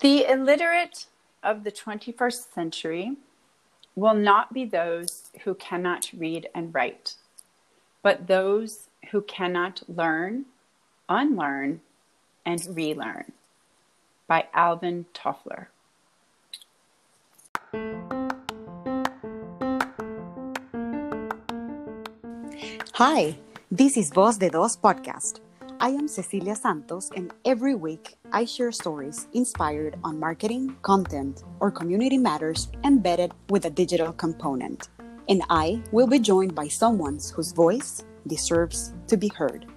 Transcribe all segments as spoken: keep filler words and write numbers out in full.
The illiterate of the twenty-first century will not be those who cannot read and write, but those who cannot learn, unlearn, and relearn. By Alvin Toffler. Hi, this is Voz de Dos podcast. I am Cecilia Santos, and every week I share stories inspired on marketing, content, or community matters embedded with a digital component. And I will be joined by someone whose voice deserves to be heard.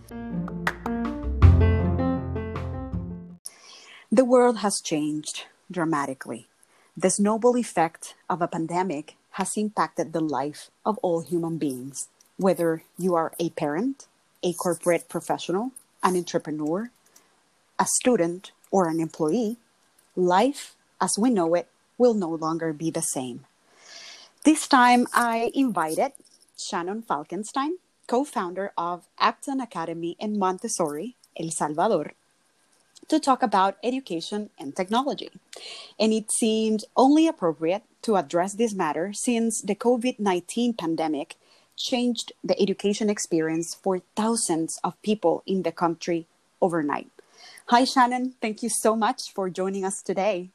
The world has changed dramatically. The snowball effect of a pandemic has impacted the life of all human beings, whether you are a parent, a corporate professional, an entrepreneur, a student, or an employee. Life as we know it will no longer be the same. This time I invited Shannon Falkenstein, co-founder of Acton Academy in Montessori, El Salvador, to talk about education and technology. And it seemed only appropriate to address this matter since the covid nineteen pandemic changed the education experience for thousands of people in the country overnight. Hi, Shannon. Thank you so much for joining us today.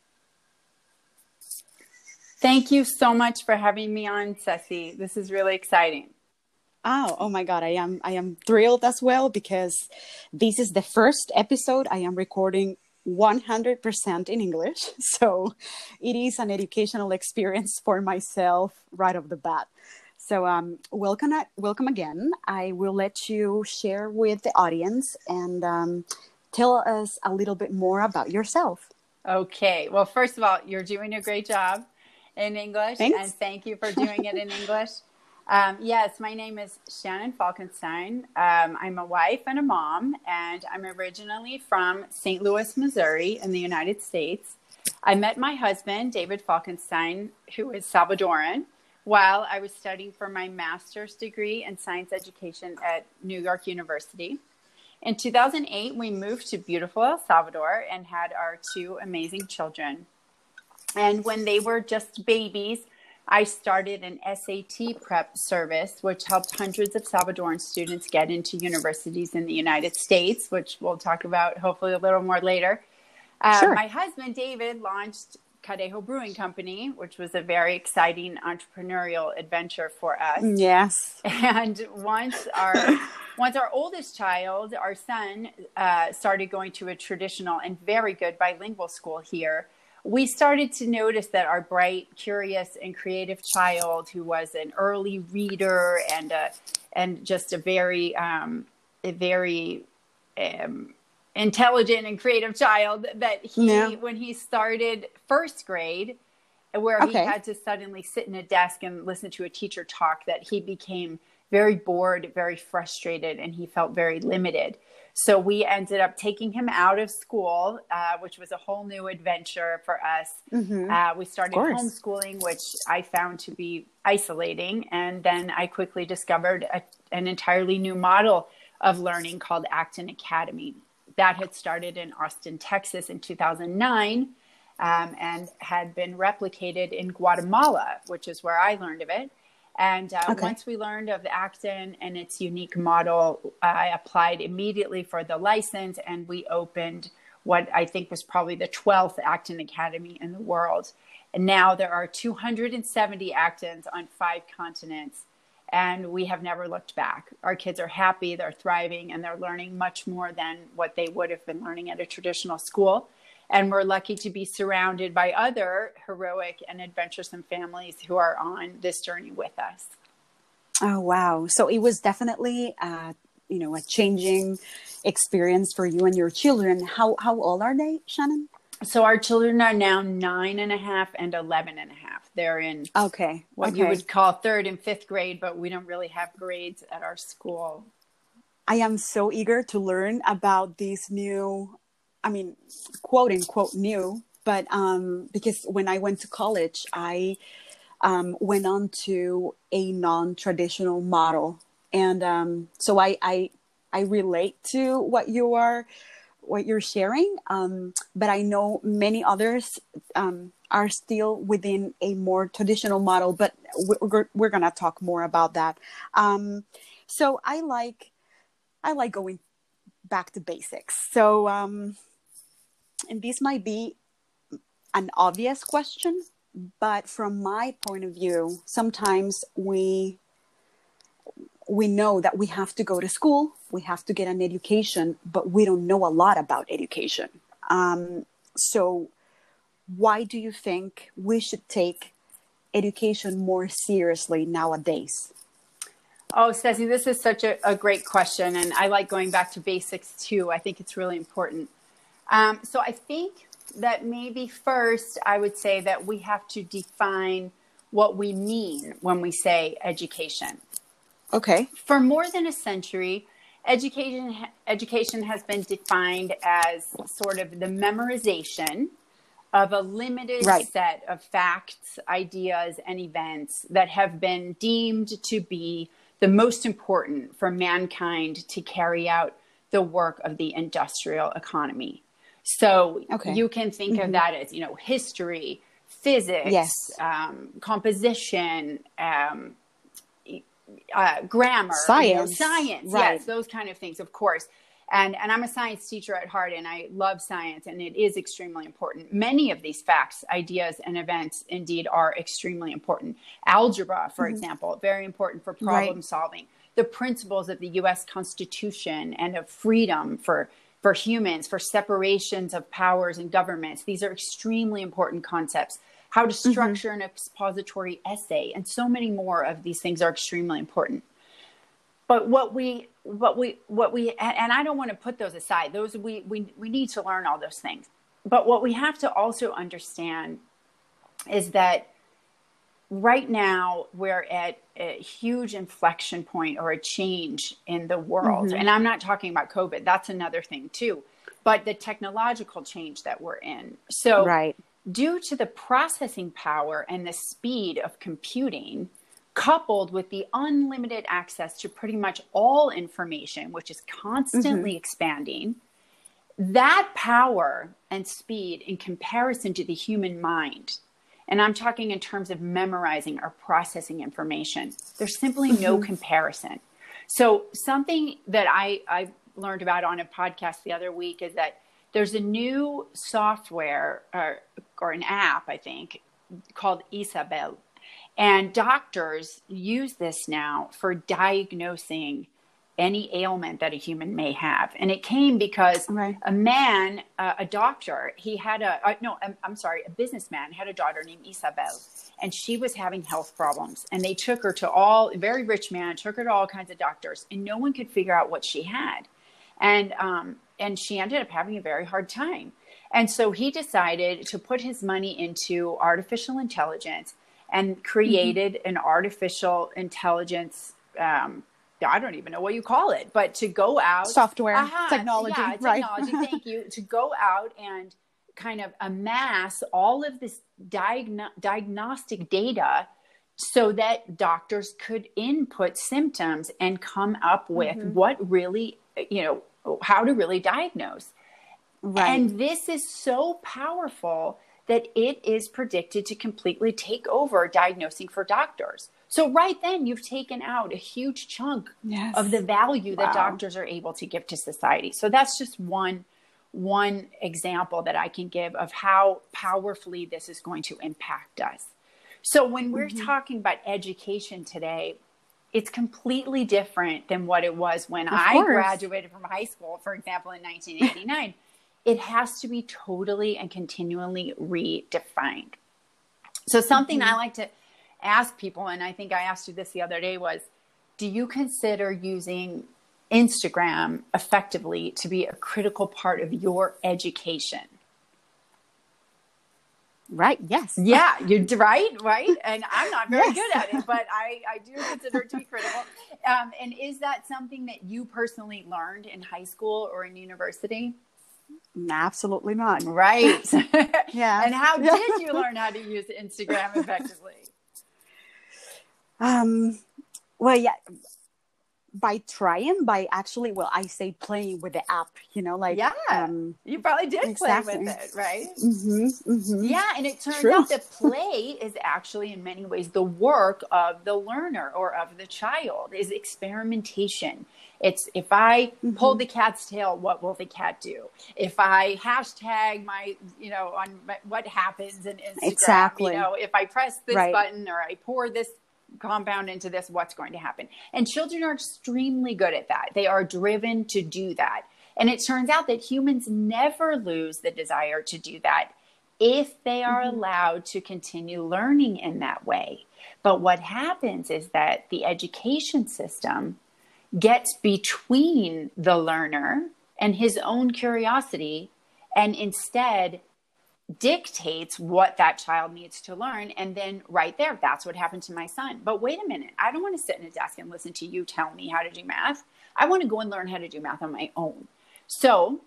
Thank you so much for having me on, Ceci. This is really exciting. Oh, oh my God. I am I am thrilled as well because this is the first episode I am recording one hundred percent in English. So it is an educational experience for myself right off the bat. So um, welcome, welcome again. I will let you share with the audience and um, tell us a little bit more about yourself. Okay. Well, first of all, you're doing a great job in English. Thanks. And thank you for doing it in English. Um, yes, my name is Shannon Falkenstein. Um, I'm a wife and a mom, and I'm originally from Saint Louis, Missouri in the United States. I met my husband, David Falkenstein, who is Salvadoran, while I was studying for my master's degree in science education at New York University. In two thousand eight, we moved to beautiful El Salvador and had our two amazing children. And when they were just babies, I started an S A T prep service, which helped hundreds of Salvadoran students get into universities in the United States, which we'll talk about hopefully a little more later. Uh, Sure. My husband, David, launched Cadejo Brewing Company, which was a very exciting entrepreneurial adventure for us. Yes. And once our once our oldest child, our son, uh, started going to a traditional and very good bilingual school here, we started to notice that our bright, curious, and creative child, who was an early reader and a, and just a very um, a very um, intelligent and creative child, that he, Yeah. when he started first grade, where Okay. he had to suddenly sit in a desk and listen to a teacher talk, that he became very bored, very frustrated, and he felt very limited. So we ended up taking him out of school, uh, which was a whole new adventure for us. Mm-hmm. Uh, we started course. homeschooling, which I found to be isolating. And then I quickly discovered a, an entirely new model of learning called Acton Academy. That had started in Austin, Texas in two thousand nine um, and had been replicated in Guatemala, which is where I learned of it. And uh, Okay. once we learned of Acton and its unique model, I applied immediately for the license, and we opened what I think was probably the twelfth Acton Academy in the world. And now there are two hundred seventy Actons on five continents, and we have never looked back. Our kids are happy, they're thriving, and they're learning much more than what they would have been learning at a traditional school. And we're lucky to be surrounded by other heroic and adventuresome families who are on this journey with us. Oh, wow. So it was definitely, uh, you know, a changing experience for you and your children. How how old are they, Shannon? So our children are now nine and a half and eleven and a half. They're in Okay. what okay. you would call third and fifth grade, but we don't really have grades at our school. I am so eager to learn about these new, I mean, quote unquote new, but um, because when I went to college, I um, went on to a non-traditional model. And um, so I, I, I relate to what you are what you're sharing, um, but I know many others um, are still within a more traditional model, but we're, we're going to talk more about that. Um, so I like, I like going back to basics. So, um, and this might be an obvious question, but from my point of view, sometimes we we know that we have to go to school, we have to get an education, but we don't know a lot about education. Um, so why do you think we should take education more seriously nowadays? Oh, Stacey, this is such a, a great question. And I like going back to basics too. I think it's really important. Um, so I think that maybe first I would say that we have to define what we mean when we say education. Okay. For more than a century, education education has been defined as sort of the memorization of a limited right. set of facts, ideas, and events that have been deemed to be the most important for mankind to carry out the work of the industrial economy. So okay. you can think mm-hmm. of that as, you know, history, physics, yes. um, composition, um, Uh, grammar, science, you know, science, right. yes, those kind of things, of course. And and I'm a science teacher at heart, and I love science, and it is extremely important. Many of these facts, ideas, and events, indeed, are extremely important. Algebra, for mm-hmm. example, very important for problem right. solving. The principles of the U S Constitution and of freedom for for humans, for separations of powers and governments. These are extremely important concepts. How to structure mm-hmm. an expository essay, and so many more of these things are extremely important. But what we, what we, what we, and I don't want to put those aside. Those we, we, we need to learn all those things. But what we have to also understand is that right now we're at a huge inflection point or a change in the world. Mm-hmm. And I'm not talking about COVID. That's another thing too. But the technological change that we're in. So right. due to the processing power and the speed of computing, coupled with the unlimited access to pretty much all information, which is constantly mm-hmm. expanding, that power and speed in comparison to the human mind, and I'm talking in terms of memorizing or processing information, there's simply mm-hmm. no comparison. So something that I, I learned about on a podcast the other week is that there's a new software or, or an app, I think, called Isabel. And doctors use this now for diagnosing any ailment that a human may have. And it came because right. a man, uh, a doctor, he had a, uh, no, I'm, I'm sorry, a businessman had a daughter named Isabel. And she was having health problems. And they took her to all, a very rich man, took her to all kinds of doctors. And no one could figure out what she had. And, um, and she ended up having a very hard time. And so he decided to put his money into artificial intelligence and created mm-hmm. an artificial intelligence, um, I don't even know what you call it, but to go out. Software, uh-huh, technology, yeah, right. technology, thank you. To go out and kind of amass all of this diagno- diagnostic data so that doctors could input symptoms and come up with mm-hmm. what really, you know, how to really diagnose. Right. And this is so powerful that it is predicted to completely take over diagnosing for doctors. So right then you've taken out a huge chunk yes. of the value wow. that doctors are able to give to society. So that's just one, one example that I can give of how powerfully this is going to impact us. So when we're mm-hmm. talking about education today, it's completely different than what it was when of I course. graduated from high school, for example, in nineteen eighty-nine. It has to be totally and continually redefined. So something mm-hmm. I like to ask people, and I think I asked you this the other day, was, do you consider using Instagram effectively to be a critical part of your education? Right. Yes. Yeah. You're right. Right. And I'm not very yes. good at it, but I, I do consider it to be critical. Um, and is that something that you personally learned in high school or in university? Absolutely not. Right. yeah. And how yeah. did you learn how to use Instagram effectively? Um, well, yeah, by trying, by actually, well, I say playing with the app, you know, like, yeah, um, you probably did exactly. play with it, right? Mm-hmm, mm-hmm. Yeah. And it turns True. out that play is actually in many ways the work of the learner or of the child, is experimentation. It's, if I Mm-hmm. pull the cat's tail, what will the cat do? If I hashtag my, you know, on my, what happens in Instagram, Exactly. you know, if I press this Right. button or I pour this compound into this, what's going to happen? And children are extremely good at that. They are driven to do that. And it turns out that humans never lose the desire to do that if they are mm-hmm. allowed to continue learning in that way. But what happens is that the education system gets between the learner and his own curiosity, and instead dictates what that child needs to learn. And then right there, that's what happened to my son. But wait a minute, I don't want to sit in a desk and listen to you tell me how to do math. I want to go and learn how to do math on my own. So,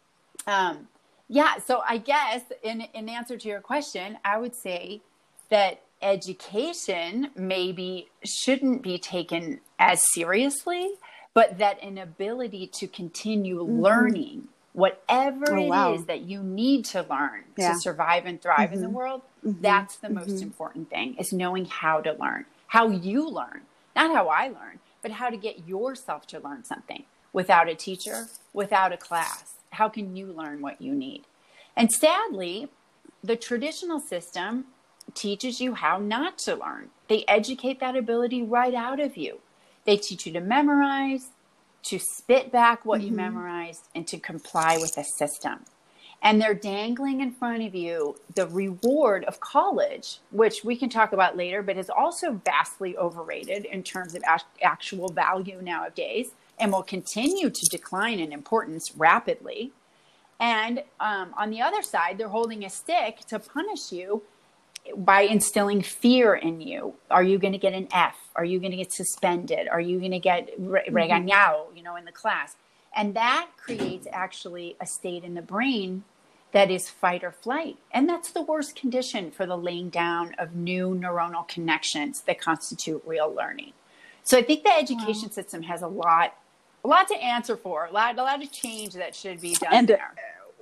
um, yeah, so I guess in, in answer to your question, I would say that education maybe shouldn't be taken as seriously, but that an ability to continue mm-hmm. learning whatever oh, wow. it is that you need to learn yeah. to survive and thrive mm-hmm. in the world, mm-hmm. that's the mm-hmm. most important thing, is knowing how to learn, how you learn, not how I learn, but how to get yourself to learn something without a teacher, without a class. How can you learn what you need? And sadly, the traditional system teaches you how not to learn. They educate that ability right out of you. They teach you to memorize, to spit back what mm-hmm. you memorized, and to comply with the system. And they're dangling in front of you the reward of college, which we can talk about later, but is also vastly overrated in terms of actual value nowadays, and will continue to decline in importance rapidly. And um, on the other side, they're holding a stick to punish you by instilling fear in you. Are you going to get an F? Are you going to get suspended? Are you going to get re- regañado, you know, in the class? And that creates actually a state in the brain that is fight or flight. And that's the worst condition for the laying down of new neuronal connections that constitute real learning. So I think the education wow. system has a lot, a lot to answer for, a lot, a lot of change that should be done and, there.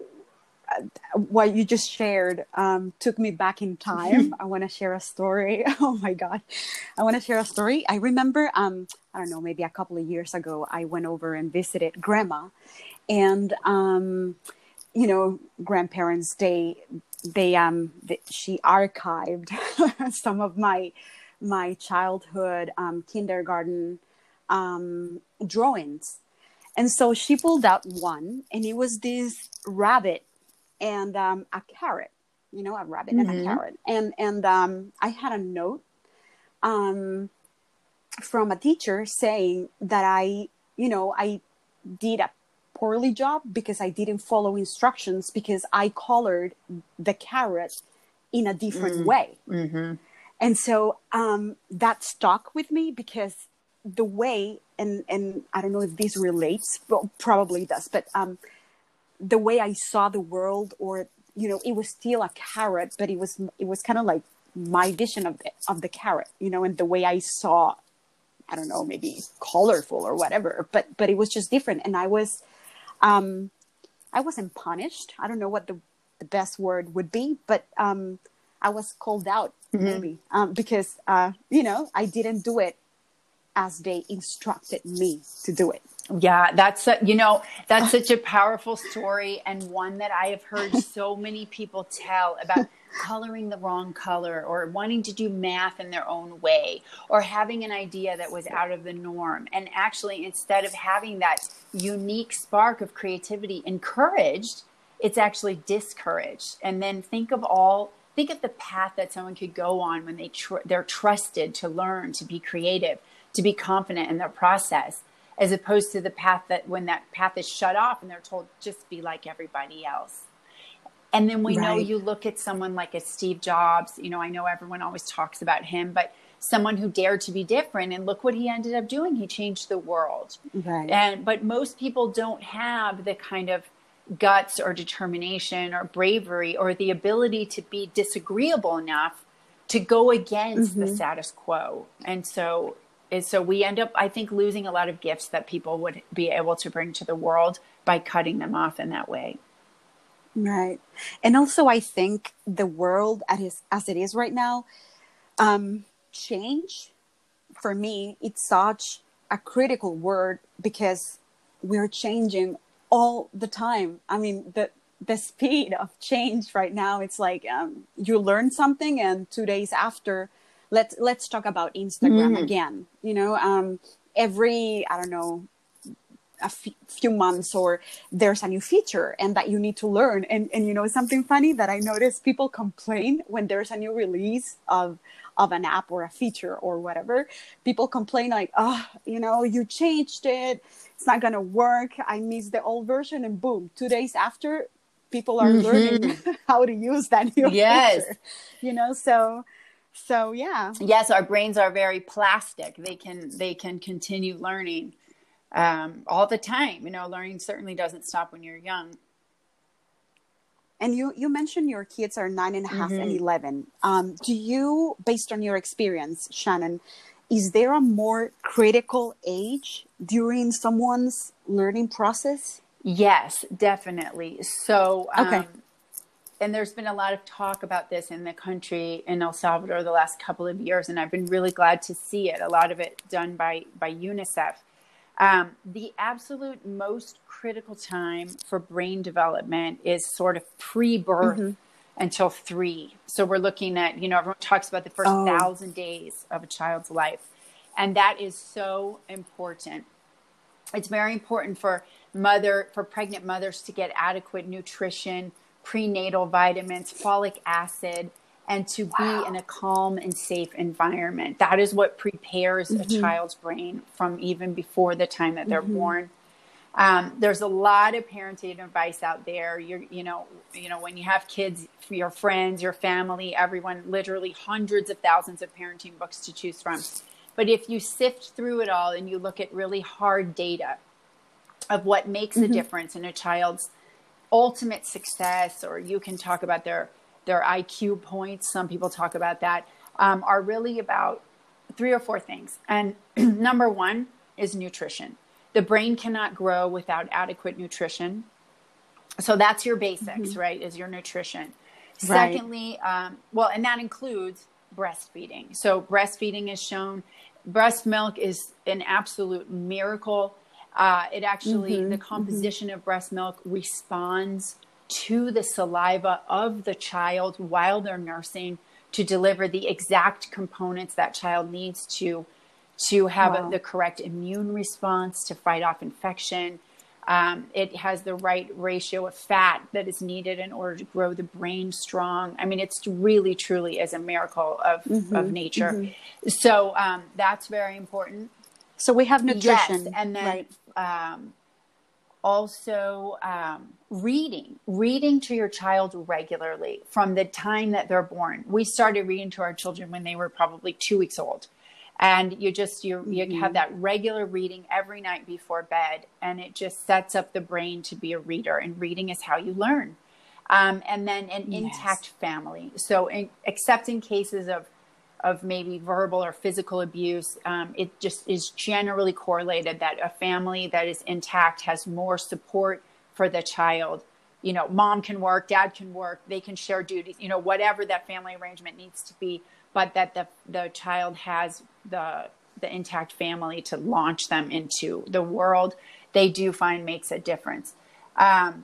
What you just shared um, took me back in time. I want to share a story. Oh my God. I want to share a story. I remember, um, I don't know, maybe a couple of years ago, I went over and visited grandma, and, um, you know, grandparents, they, they, um, they, she archived some of my, my childhood, um, kindergarten, um, drawings. And so she pulled out one, and it was this rabbit and um, a carrot, you know, a rabbit mm-hmm. and a carrot. And and um, I had a note um, from a teacher saying that I, you know, I did a poorly job because I didn't follow instructions, because I colored the carrot in a different mm-hmm. way. Mm-hmm. And so um, that stuck with me, because the way, and, and I don't know if this relates, well, probably does, but um, the way I saw the world, or, you know, it was still a carrot, but it was, it was kind of like my vision of the, of the carrot, you know, and the way I saw, I don't know, maybe colorful or whatever, but, but it was just different. And I was, um, I wasn't punished. I don't know what the, the best word would be, but, um, I was called out mm-hmm. maybe, um, because, uh, you know, I didn't do it as they instructed me to do it. Yeah, that's, a, you know, that's such a powerful story, and one that I have heard so many people tell about coloring the wrong color, or wanting to do math in their own way, or having an idea that was out of the norm. And actually, instead of having that unique spark of creativity encouraged, it's actually discouraged. And then think of all, think of the path that someone could go on when they tr- they're trusted to learn, to be creative, to be confident in their process, as opposed to the path that when that path is shut off and they're told, just be like everybody else. And then we right. know, you look at someone like a Steve Jobs, you know, I know everyone always talks about him, but someone who dared to be different, and look what he ended up doing. He changed the world. Right. And, but most people don't have the kind of guts or determination or bravery or the ability to be disagreeable enough to go against mm-hmm. the status quo. And so is so we end up, I think, losing a lot of gifts that people would be able to bring to the world by cutting them off in that way. Right. And also, I think the world as, is, as it is right now, um, change, for me, it's such a critical word because we're changing all the time. I mean, the the speed of change right now, it's like um, you learn something and two days after, let's, let's talk about Instagram Mm. again. You know, um, every, I don't know, a f- few months or there's a new feature and that you need to learn. And, and you know, something funny that I noticed, people complain when there's a new release of, of an app or a feature or whatever. People complain like, oh, you know, you changed it. It's not going to work. I missed the old version. And boom, two days after, people are mm-hmm. learning how to use that new yes. feature, you know? So, so yeah. Yes. Our brains are very plastic. They can, they can continue learning um, all the time. You know, learning certainly doesn't stop when you're young. And you, you mentioned your kids are nine and a half mm-hmm. and eleven. Um, do you, based on your experience, Shannon, is there a more critical age during someone's learning process? Yes, definitely. So, um, okay. and there's been a lot of talk about this in the country in El Salvador the last couple of years, and I've been really glad to see it. A lot of it done by, by UNICEF. Um, the absolute most critical time for brain development is sort of pre-birth mm-hmm. until three. So we're looking at, you know, everyone talks about the first oh. thousand days of a child's life. And that is so important. It's very important for mother, for pregnant mothers to get adequate nutrition, prenatal vitamins, folic acid, and to wow. be in a calm and safe environment. That is what prepares mm-hmm. a child's brain from even before the time that they're mm-hmm. born. Um, there's a lot of parenting advice out there. You're, you know, you know, when you have kids, your friends, your family, everyone, literally hundreds of thousands of parenting books to choose from. But if you sift through it all and you look at really hard data of what makes mm-hmm. a difference in a child's ultimate success, or you can talk about their their I Q points, some people talk about that, um, are really about three or four things. And number one is nutrition. The brain cannot grow without adequate nutrition. So that's your basics, mm-hmm. right, is your nutrition. Right. Secondly, um, well, and that includes breastfeeding. So breastfeeding is shown, breast milk is an absolute miracle. Uh, it actually, mm-hmm. the composition mm-hmm. of breast milk responds to the saliva of the child while they're nursing to deliver the exact components that child needs to to have wow. a, the correct immune response to fight off infection. Um, it has the right ratio of fat that is needed in order to grow the brain strong. I mean, it's really, truly is a miracle of, mm-hmm. of nature. Mm-hmm. So um, that's very important. So we have nutrition. Yes, and then right. um, also um, reading, reading to your child regularly from the time that they're born. We started reading to our children when they were probably two weeks old. And you just, you, you mm-hmm. have that regular reading every night before bed, and it just sets up the brain to be a reader, and reading is how you learn. Um, and then an yes. intact family. So in, except in cases of, of maybe verbal or physical abuse, um, it just is generally correlated that a family that is intact has more support for the child. You know, mom can work, dad can work, they can share duties, you know, whatever that family arrangement needs to be, but that the the child has the the intact family to launch them into the world, they do find makes a difference. Um,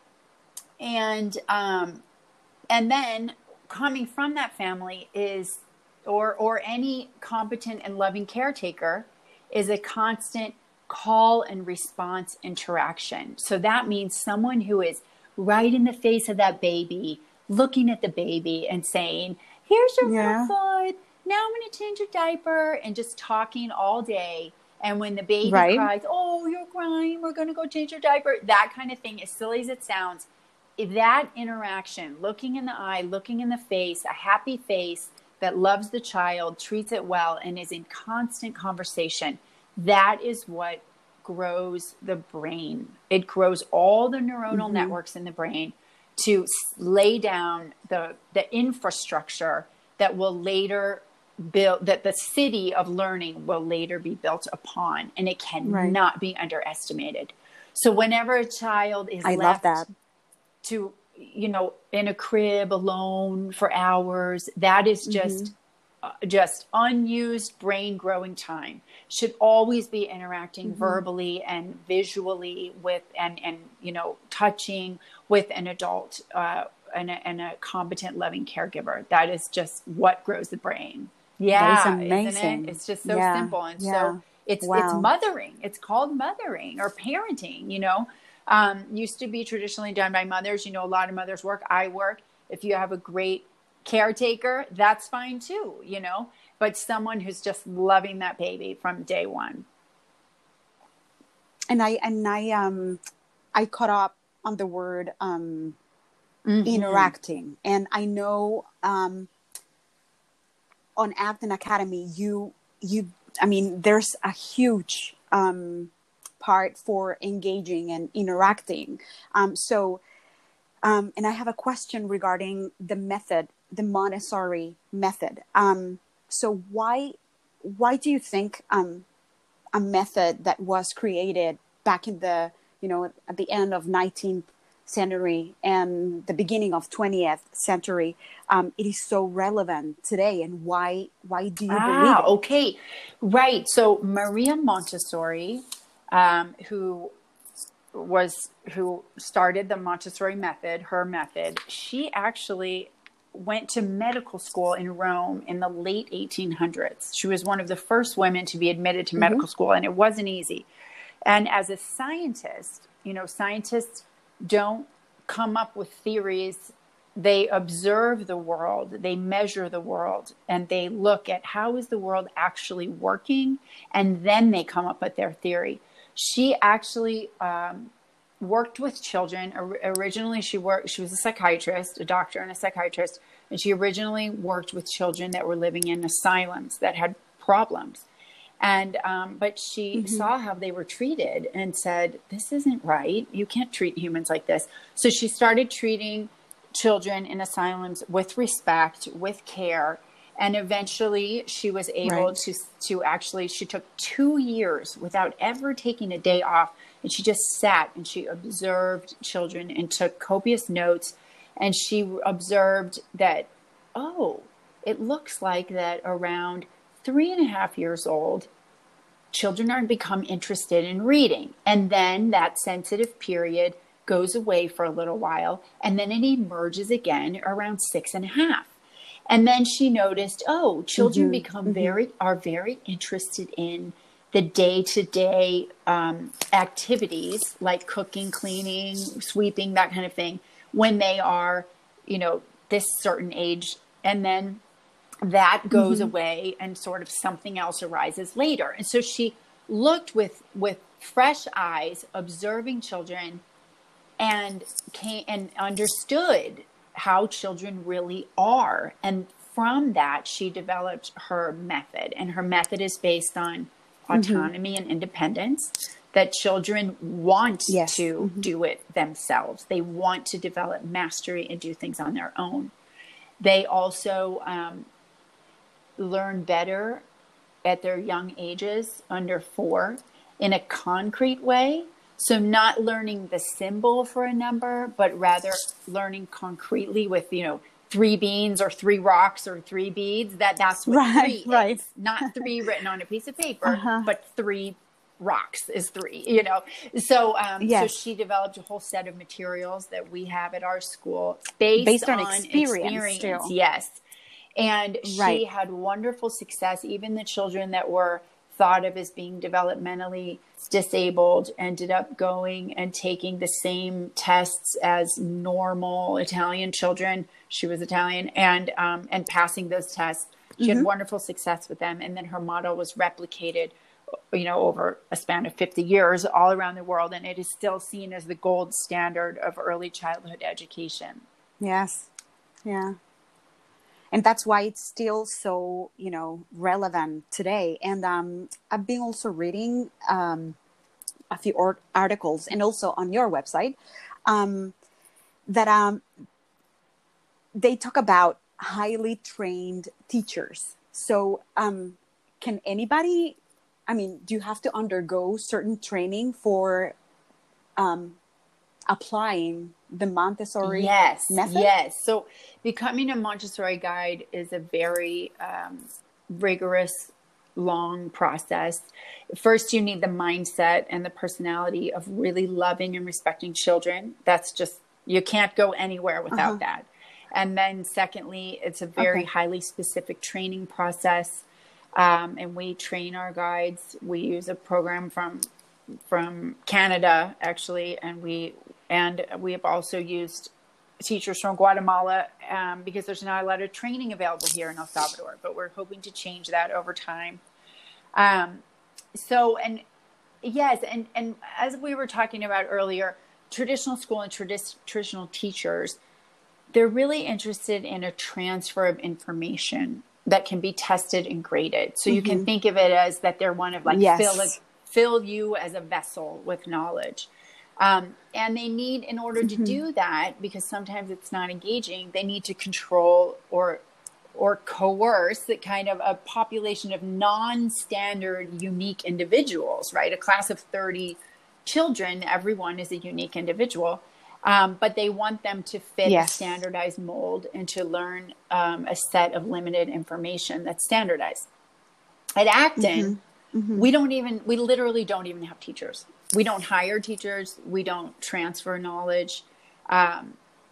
and um, and then coming from that family is, or or any competent and loving caretaker, is a constant call and response interaction. So that means someone who is right in the face of that baby, looking at the baby and saying, here's your yeah. foot. Now I'm going to change your diaper, and just talking all day. And when the baby right. cries, oh, you're crying, we're going to go change your diaper. That kind of thing, as silly as it sounds, that interaction, looking in the eye, looking in the face, a happy face that loves the child, treats it well, and is in constant conversation, that is what grows the brain. It grows all the neuronal mm-hmm. networks in the brain to lay down the the infrastructure that will later build, that the city of learning will later be built upon, and it cannot Right. be underestimated. So whenever a child is I love left that. to, you know, in a crib alone for hours, that is Mm-hmm. just uh, just unused brain growing time. Should always be interacting Mm-hmm. verbally and visually with, and and you know, touching with an adult, uh, and, a, and a competent loving caregiver. That is just what grows the brain. That is Yeah, isn't it? amazing. It's just so Yeah. simple. And so Yeah. it's it's Wow. mothering. It's called mothering or parenting, you know. Um, used to be traditionally done by mothers. You know, a lot of mothers work. I work. If you have a great caretaker, that's fine too, you know, but someone who's just loving that baby from day one. And I and I um I caught up on the word um Mm-hmm. interacting. And I know um on Acton Academy you you I mean there's a huge um part for engaging and interacting. Um so um and I have a question regarding the method, the Montessori method. Um so why why do you think um a method that was created back in the, you know, at the end of nineteenth century and the beginning of twentieth century, um, it is so relevant today, and why why do you believe Ah, it? okay. Right. So Maria Montessori, um, who was, who started the Montessori method, her method, she actually went to medical school in Rome in the late eighteen hundreds. She was one of the first women to be admitted to Mm-hmm. medical school, and it wasn't easy. And as a scientist, you know, scientists don't come up with theories. They observe the world, they measure the world, and they look at how is the world actually working, and then they come up with their theory. She actually um, worked with children. Originally, she worked. She was a psychiatrist, a doctor and a psychiatrist, and she originally worked with children that were living in asylums that had problems. And um, but she Mm-hmm. saw how they were treated and said, "This isn't right. You can't treat humans like this." So she started treating children in asylums with respect, with care. And eventually she was able Right. to, to actually, she took two years without ever taking a day off. And she just sat and she observed children and took copious notes. And she observed that, oh, it looks like that around three and a half years old, children are become interested in reading. And then that sensitive period goes away for a little while, and then it emerges again around six and a half. And then she noticed, oh, children Mm-hmm. become Mm-hmm. very, are very interested in the day-to-day um, activities like cooking, cleaning, sweeping, that kind of thing, when they are, you know, this certain age. And then that goes Mm-hmm. away and sort of something else arises later. And so she looked with, with fresh eyes, observing children, and came and understood how children really are. And from that, she developed her method. And her method is based on Mm-hmm. autonomy and independence, that children want Yes. to Mm-hmm. do it themselves. They want to develop mastery and do things on their own. They also um, learn better at their young ages, under four, in a concrete way. So not learning the symbol for a number, but rather learning concretely with, you know, three beans or three rocks or three beads. That that's what Right. three Right. is. Not three written on a piece of paper, Uh-huh. but three rocks is three, you know. So um, so Yes. she developed a whole set of materials that we have at our school based, Based on on experience experience. still. Yes. And Right. she had wonderful success. Even the children that were thought of as being developmentally disabled ended up going and taking the same tests as normal Italian children. She was Italian, and um, and passing those tests. She Mm-hmm. had wonderful success with them. And then her model was replicated, you know, over a span of fifty years all around the world. And it is still seen as the gold standard of early childhood education. Yes. Yeah. And that's why it's still so, you know, relevant today. And um, I've been also reading um, a few or- articles, and also on your website, um, that um, they talk about highly trained teachers. So, um, can anybody, I mean, do you have to undergo certain training for um, applying the Montessori Yes, method? yes. So becoming a Montessori guide is a very um, rigorous, long process. First, you need the mindset and the personality of really loving and respecting children. That's just, you can't go anywhere without Uh-huh. that. And then secondly, it's a very Okay. highly specific training process. Um, and we train our guides. We use a program from from Canada, actually, and we and we have also used teachers from Guatemala um, because there's not a lot of training available here in El Salvador, but we're hoping to change that over time. Um, so, and yes, and, and as we were talking about earlier, traditional school and tradi- traditional teachers, they're really interested in a transfer of information that can be tested and graded. So you can Mm-hmm. think of it as that they're one of like fill, Yes. fill you as a vessel with knowledge. Um, and they need, in order to Mm-hmm. do that, because sometimes it's not engaging, they need to control or or coerce that kind of a population of non-standard unique individuals, right? A class of thirty children, everyone is a unique individual. Um, but they want them to fit a Yes. standardized mold and to learn um, a set of limited information that's standardized. At Acton, Mm-hmm. Mm-hmm. we don't even, we literally don't even have teachers. We don't hire teachers. We don't transfer knowledge. Um,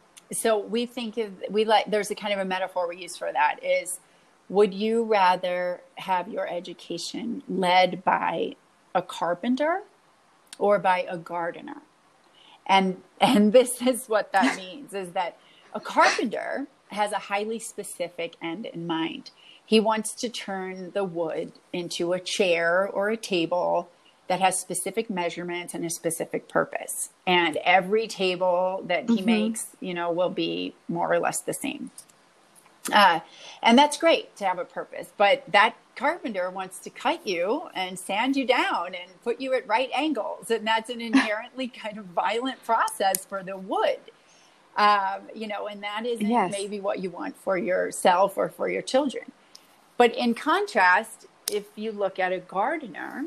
so we think of, we like, there's a kind of a metaphor we use for that is, would you rather have your education led by a carpenter or by a gardener? And and this is what that means, is that a carpenter has a highly specific end in mind. He wants to turn the wood into a chair or a table that has specific measurements and a specific purpose. And every table that he Mm-hmm. makes, you know, will be more or less the same. Uh, and that's great to have a purpose, but that carpenter wants to cut you and sand you down and put you at right angles. And that's an inherently kind of violent process for the wood. Um, you know, and that isn't Yes. maybe what you want for yourself or for your children. But in contrast, if you look at a gardener,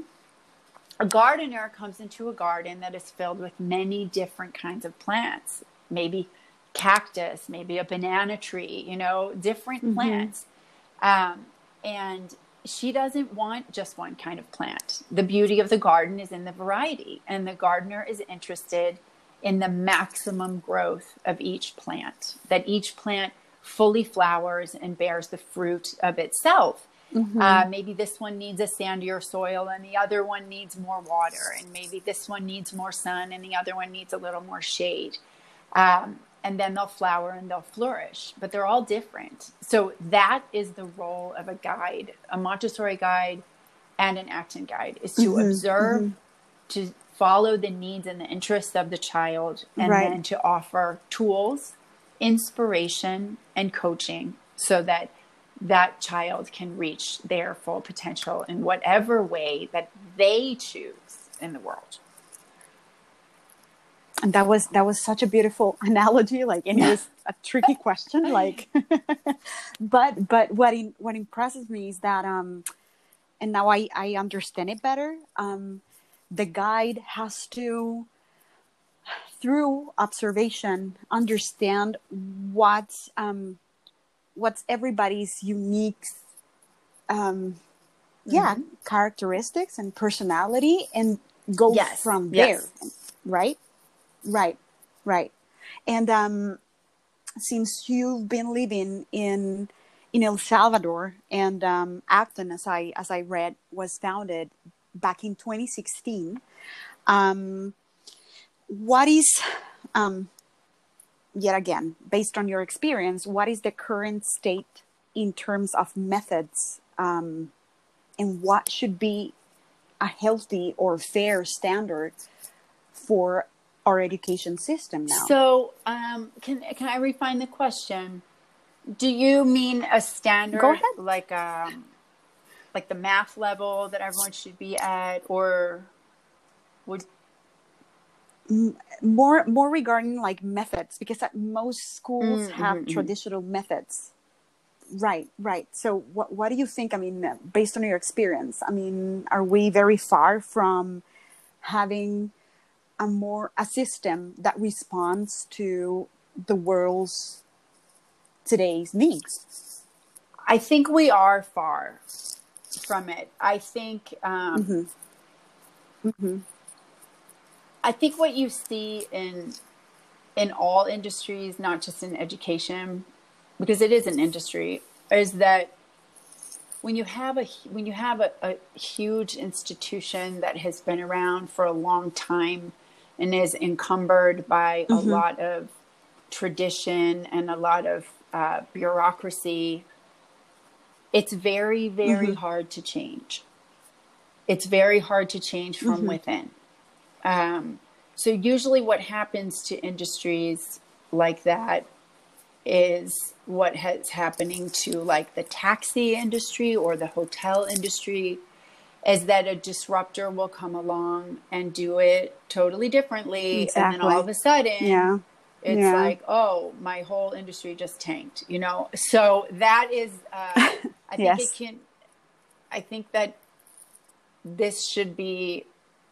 a gardener comes into a garden that is filled with many different kinds of plants, maybe cactus, maybe a banana tree, you know, different Mm-hmm. plants. Um, and she doesn't want just one kind of plant. The beauty of the garden is in the variety, and the gardener is interested in the maximum growth of each plant, that each plant fully flowers and bears the fruit of itself. Mm-hmm. Uh, maybe this one needs a sandier soil and the other one needs more water, and maybe this one needs more sun and the other one needs a little more shade. Um, and then they'll flower and they'll flourish, but they're all different. So that is the role of a guide, a Montessori guide and an Acton guide, is to Mm-hmm. observe, Mm-hmm. to follow the needs and the interests of the child, and Right. then to offer tools, inspiration, and coaching so that that child can reach their full potential in whatever way that they choose in the world. And that was that was such a beautiful analogy. Like, and it was a tricky question. Like, but but what in, what impresses me is that um, and now I I understand it better. Um, the guide has to, through observation, understand what's um, what's everybody's unique, um, yeah, Mm-hmm. characteristics and personality, and go Yes. from Yes. there, right? Right, right. And um, since you've been living in in El Salvador, and um, Acton, as I as I read, was founded back in twenty sixteen. Um, what is, um, yet again, based on your experience, what is the current state in terms of methods, um, and what should be a healthy or fair standard for our education system now? So, um, can can I refine the question? Do you mean a standard, Go ahead. like um, like the math level that everyone should be at, or would more more regarding like methods, because at most schools Mm, have mhm, mhm. traditional methods Right, right. So what what do you think? I mean, uh, based on your experience, I mean, are we very far from having a more a system that responds to the world's today's needs? I think we are far from it. I think um, Mm-hmm. Mm-hmm. I think what you see in in all industries, not just in education, because it is an industry, is that when you have a when you have a, a huge institution that has been around for a long time and is encumbered by a Mm-hmm. lot of tradition and a lot of uh, bureaucracy, it's very, very Mm-hmm. hard to change. It's very hard to change from Mm-hmm. within. Um, so usually what happens to industries like that is what has happening to like the taxi industry or the hotel industry, is that a disruptor will come along and do it totally differently. And then all of Exactly. a sudden Yeah. it's Yeah. like, oh, my whole industry just tanked, you know? So that is, uh, I think it Yes. can, I think that this should be,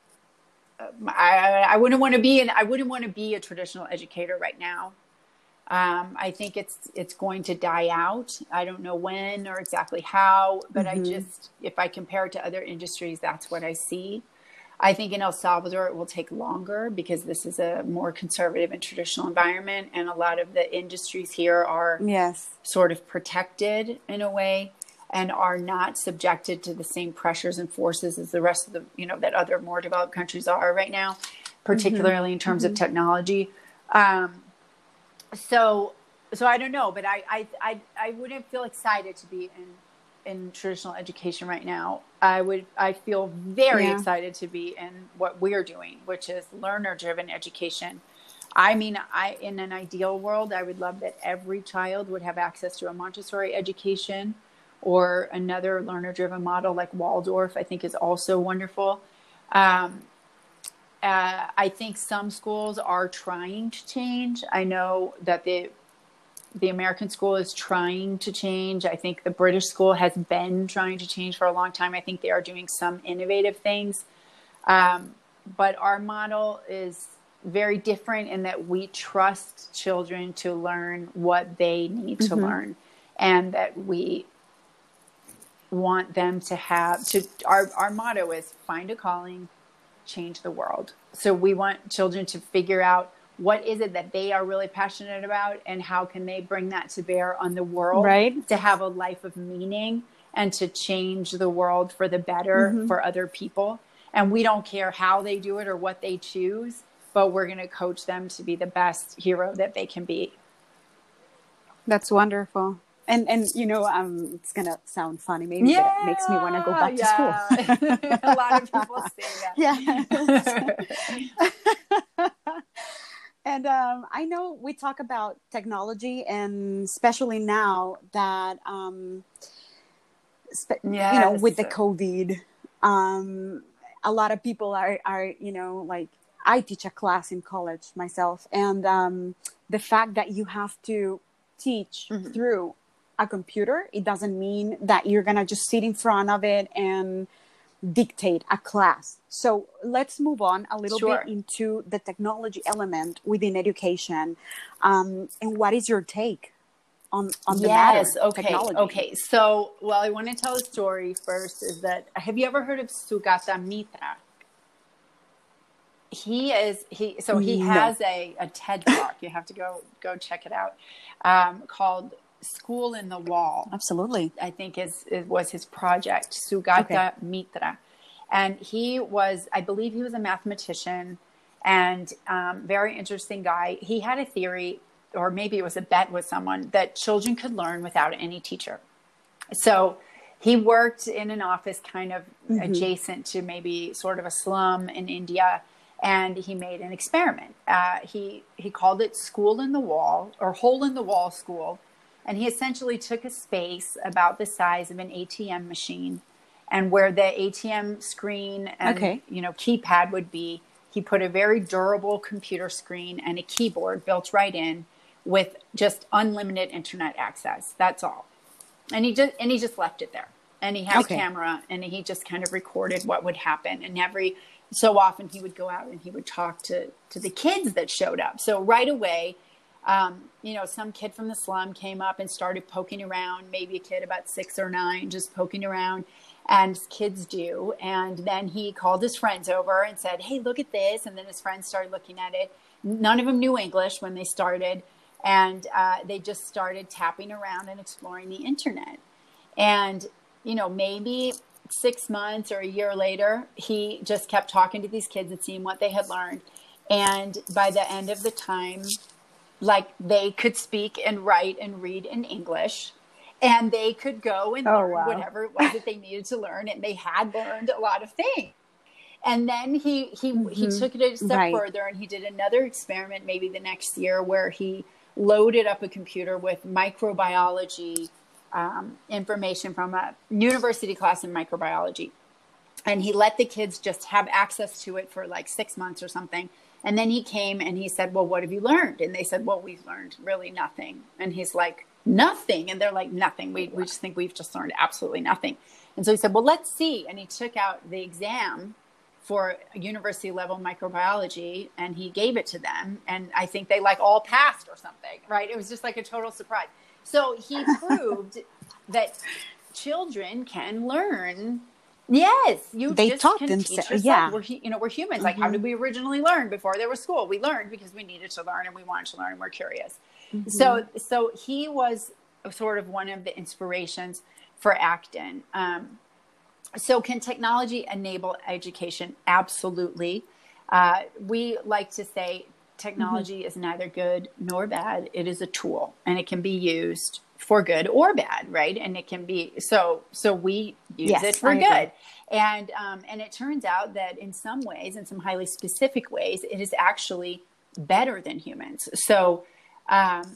I, I wouldn't want to be an, I wouldn't want to be a traditional educator right now. Um, I think it's it's going to die out. I don't know when or exactly how, but I Mm-hmm. just, if I compare it to other industries, that's what I see. I think in El Salvador it will take longer because this is a more conservative and traditional environment, and a lot of the industries here are Yes. sort of protected in a way and are not subjected to the same pressures and forces as the rest of the, you know, that other more developed countries are right now, Mm-hmm. particularly in terms of Mm-hmm. technology. Um, so, so I don't know, but I, I, I, I wouldn't feel excited to be in, in traditional education right now. I would, I feel very Yeah. excited to be in what we're doing, which is learner driven education. I mean, I, in an ideal world, I would love that every child would have access to a Montessori education or another learner driven model like Waldorf, I think is also wonderful. Um, uh, I think some schools are trying to change. I know that the the American school is trying to change. I think the British school has been trying to change for a long time. I think they are doing some innovative things. Um, but our model is very different in that we trust children to learn what they need to Mm-hmm. learn, and that we want them to have to our, our motto is find a calling, change the world. So we want children to figure out what is it that they are really passionate about and how can they bring that to bear on the world Right. to have a life of meaning and to change the world for the better Mm-hmm. for other people. And we don't care how they do it or what they choose, but we're going to coach them to be the best hero that they can be. That's wonderful. And and you know, um, it's gonna sound funny maybe, but it makes me want to go Yeah, back to school. yeah. A lot of people say that. Yes. And um, I know we talk about technology, and especially now that um, spe- you know, with Yes. the COVID, um, a lot of people are are you know, like I teach a class in college myself, and um, the fact that you have to teach Mm-hmm. through a computer, it doesn't mean that you're gonna just sit in front of it and dictate a class. So let's move on a little bit Sure. into the technology element within education. Um, and what is your take on, on the Yes. matter, Okay. technology? Okay. So, well, I want to tell a story first. Is that have you ever heard of Sugata Mitra? He is he. So he No. has a, a TED talk. You have to go go check it out. Um, called "School in the Wall." Absolutely. I think is, is was his project, Okay. Sugata Mitra, and he was, I believe, he was a mathematician and um, very interesting guy. He had a theory, or maybe it was a bet with someone, that children could learn without any teacher. So he worked in an office kind of Mm-hmm. adjacent to maybe sort of a slum in India. And he made an experiment. Uh, he he called it School in the Wall, or Hole in the Wall School. And he essentially took a space about the size of an A T M machine, and where the A T M screen and Okay. you know keypad would be, he put a very durable computer screen and a keyboard built right in with just unlimited internet access. That's all. and he just, and he just left it there. And he had Okay. a camera, and he just kind of recorded what would happen. And every so often he would go out and he would talk to, to the kids that showed up. So right away, um, you know, some kid from the slum came up and started poking around, maybe a kid about six or nine, just poking around, and kids do. And then he called his friends over and said, hey, look at this. And then his friends started looking at it. None of them knew English when they started. And uh, they just started tapping around and exploring the internet. And you know, maybe six months or a year later, he just kept talking to these kids and seeing what they had learned. And by the end of the time, like they could speak and write and read in English, and they could go and Oh, learn wow. whatever it was that they needed to learn. And they had learned a lot of things. And then he, he, mm-hmm. he took it a step right. further, and he did another experiment, maybe the next year, where he loaded up a computer with microbiology Um, information from a university class in microbiology. And he let the kids just have access to it for like six months or something. And then he came and he said, well, what have you learned? And they said, well, we've learned really nothing. And he's like, nothing? And they're like, nothing. We, we just think we've just learned absolutely nothing. And so he said, well, let's see. And he took out the exam for university level microbiology, and he gave it to them. And I think they like all passed or something, right? It was just like a total surprise. So he proved that children can learn. Yes, you they just taught can them. teach yourself. Yeah, we're you know we're humans. Mm-hmm. Like, how did we originally learn before there was school? We learned because we needed to learn, and we wanted to learn, and we're curious. Mm-hmm. So, so he was sort of one of the inspirations for Acton. Um, so, can technology enable education? Absolutely. Uh, we like to say, technology mm-hmm. is neither good nor bad. It is a tool, and it can be used for good or bad, right? And it can be so. So we use yes, it for I good, agree. and um, and it turns out that in some ways, in some highly specific ways, it is actually better than humans. So, um,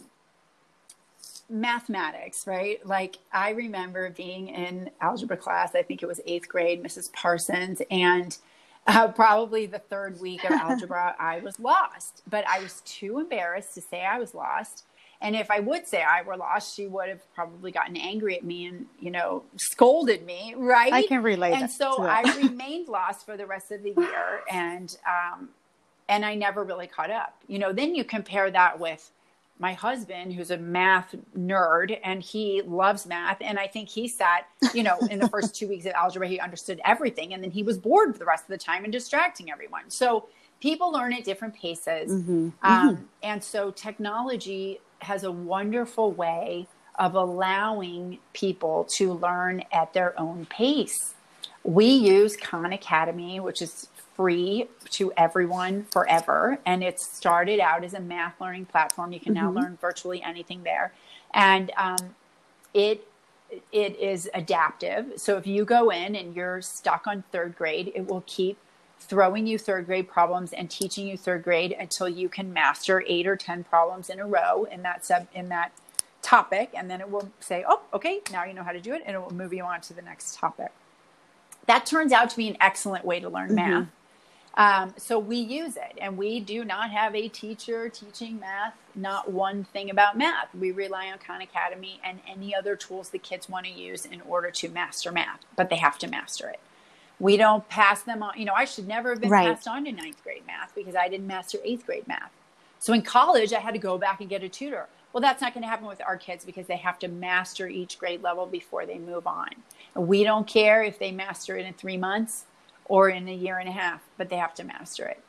mathematics, right? Like, I remember being in algebra class. I think it was eighth grade, Missus Parsons, and Uh, probably the third week of algebra, I was lost, but I was too embarrassed to say I was lost. And if I would say I were lost, she would have probably gotten angry at me and, you know, scolded me, right? I can relate. And so I remained lost for the rest of the year, and um, and I never really caught up. You know, then you compare that with my husband, who's a math nerd, and he loves math. And I think he sat, you know, in the first two weeks of algebra, he understood everything. And then he was bored for the rest of the time and distracting everyone. So people learn at different paces. Mm-hmm. Um, mm-hmm. And so technology has a wonderful way of allowing people to learn at their own pace. We use Khan Academy, which is free to everyone forever. And it started out as a math learning platform. You can mm-hmm. now learn virtually anything there. And um, it it is adaptive. So if you go in and you're stuck on third grade, it will keep throwing you third grade problems and teaching you third grade until you can master eight or ten problems in a row in that sub in that topic. And then it will say, oh, okay, now you know how to do it. And it will move you on to the next topic. That turns out to be an excellent way to learn mm-hmm. math. Um, so we use it, and we do not have a teacher teaching math, not one thing about math. We rely on Khan Academy and any other tools the kids want to use in order to master math, but they have to master it. We don't pass them on. You know, I should never have been right. passed on to ninth grade math because I didn't master eighth grade math. So in college, I had to go back and get a tutor. Well, that's not going to happen with our kids because they have to master each grade level before they move on. And we don't care if they master it in three months or in a year and a half, but they have to master it.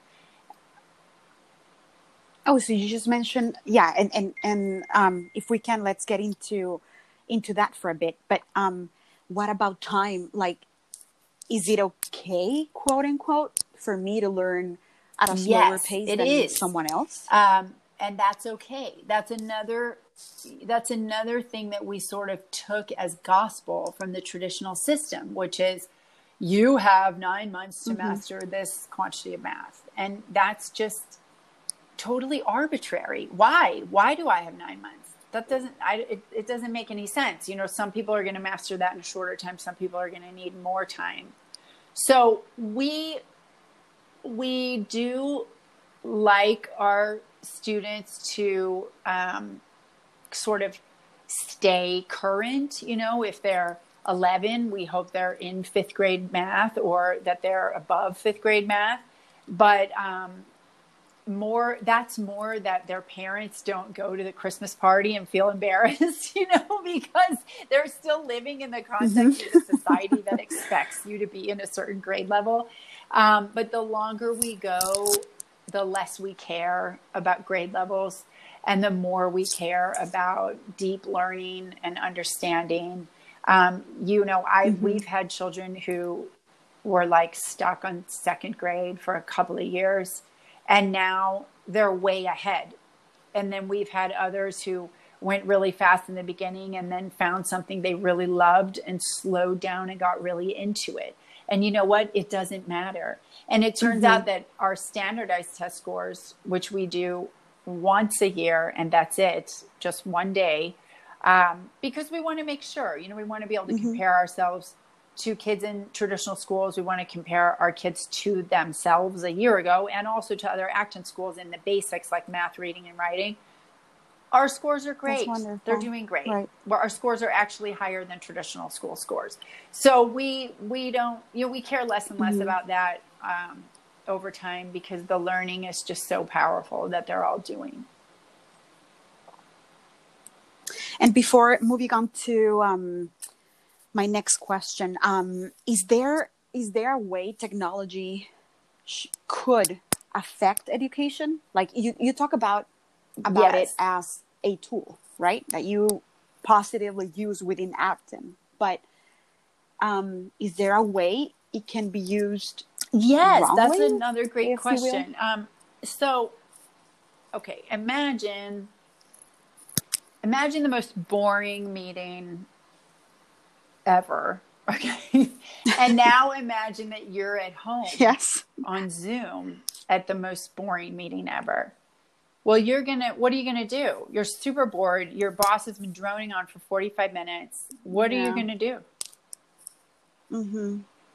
Oh, so you just mentioned, yeah, and and and um, if we can, let's get into into that for a bit. But um, what about time? Like, is it okay, quote unquote, for me to learn at a slower yes, pace it than is. someone else? Um, and that's okay. That's another. That's another thing that we sort of took as gospel from the traditional system, which is, you have nine months to mm-hmm. master this quantity of math. And that's just totally arbitrary. Why? Why do I have nine months? That doesn't, I, it, it doesn't make any sense. You know, some people are going to master that in a shorter time. Some people are going to need more time. So we, we do like our students to um, sort of stay current. You know, if they're eleven, we hope they're in fifth grade math or that they're above fifth grade math. But um, more, that's more that their parents don't go to the Christmas party and feel embarrassed, you know, because they're still living in the context mm-hmm. of the society that expects you to be in a certain grade level. Um, but the longer we go, the less we care about grade levels and the more we care about deep learning and understanding. Um, you know, I, mm-hmm. we've had children who were like stuck on second grade for a couple of years and now they're way ahead. And then we've had others who went really fast in the beginning and then found something they really loved and slowed down and got really into it. And you know what? It doesn't matter. And it turns mm-hmm. out that our standardized test scores, which we do once a year, and that's it, just one day, um, because we want to make sure, you know, we want to be able to mm-hmm. compare ourselves to kids in traditional schools. We want to compare our kids to themselves a year ago and also to other Acton schools in the basics like math, reading, and writing. Our scores are great. They're doing great. Right. Well, our scores are actually higher than traditional school scores. So we we don't, you know, we care less and less mm-hmm. about that um, over time because the learning is just so powerful that they're all doing. And before moving on to um, my next question, um, is there is there a way technology sh- could affect education? Like you, you talk about about yes. it as a tool, right? That you positively use within Acton. But um, is there a way it can be used Yes, wrongly, that's another great question. Um, so, okay, imagine, imagine the most boring meeting ever. Okay. And now imagine that you're at home yes. on Zoom at the most boring meeting ever. Well, you're going to, what are you going to do? You're super bored. Your boss has been droning on for forty-five minutes. What yeah. are you going to do? Mm-hmm.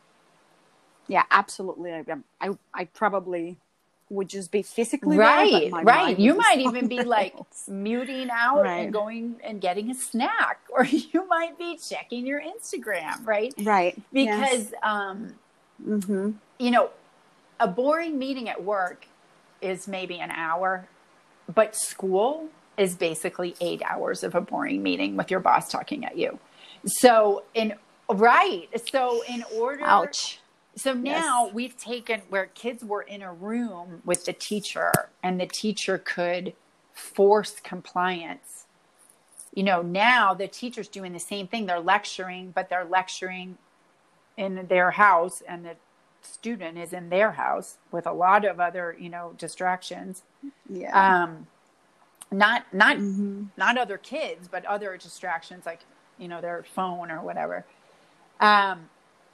Yeah, absolutely. I, I, I probably would just be physically right, there, but my right. mind You would might be even be like else. muting out right. and going and getting a snack, or you might be checking your Instagram, right? Right. Because, yes. um, mm-hmm. you know, a boring meeting at work is maybe an hour. But school is basically eight hours of a boring meeting with your boss talking at you. So in, right. So in order, ouch. So now yes. we've taken where kids were in a room with the teacher and the teacher could force compliance. You know, now the teacher's doing the same thing. They're lecturing, but they're lecturing in their house and the student is in their house with a lot of other, you know, distractions. Yeah. Um, not, not, mm-hmm. not other kids, but other distractions like, you know, their phone or whatever. Um,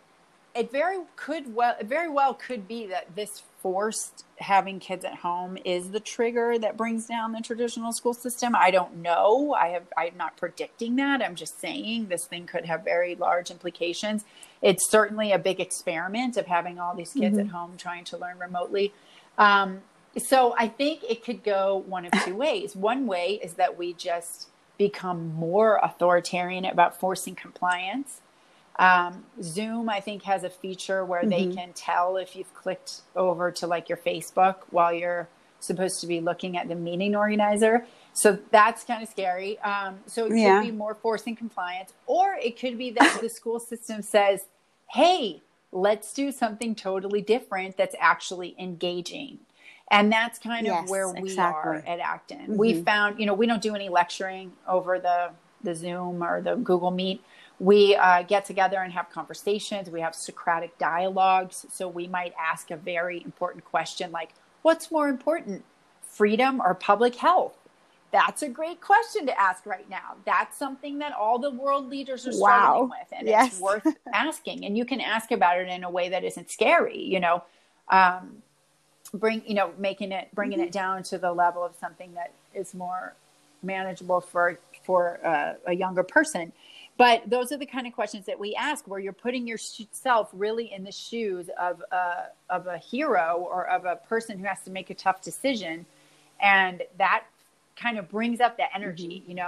it very could well, it very well could be that this forced having kids at home is the trigger that brings down the traditional school system. I don't know. I have, I'm not predicting that. I'm just saying this thing could have very large implications. It's certainly a big experiment of having all these kids mm-hmm. at home trying to learn remotely. Um, so I think it could go one of two ways. One way is that we just become more authoritarian about forcing compliance. Um, Zoom, I think, has a feature where mm-hmm. they can tell if you've clicked over to like your Facebook while you're supposed to be looking at the meeting organizer. So that's kind of scary. Um, so it yeah. could be more forcing compliance, or it could be that the school system says, hey, let's do something totally different that's actually engaging. And that's kind yes, of where we exactly. are at Acton. Mm-hmm. We found, you know, we don't do any lecturing over the, the Zoom or the Google Meet. We uh, get together and have conversations. We have Socratic dialogues. So we might ask a very important question like, what's more important, freedom or public health? That's a great question to ask right now. That's something that all the world leaders are struggling wow. with. And yes. it's worth asking. And you can ask about it in a way that isn't scary, you know, um, bring, you know, making it, bringing mm-hmm. it down to the level of something that is more manageable for, for uh, a younger person. But those are the kind of questions that we ask where you're putting yourself really in the shoes of a, of a hero or of a person who has to make a tough decision. And that kind of brings up that energy, mm-hmm. you know,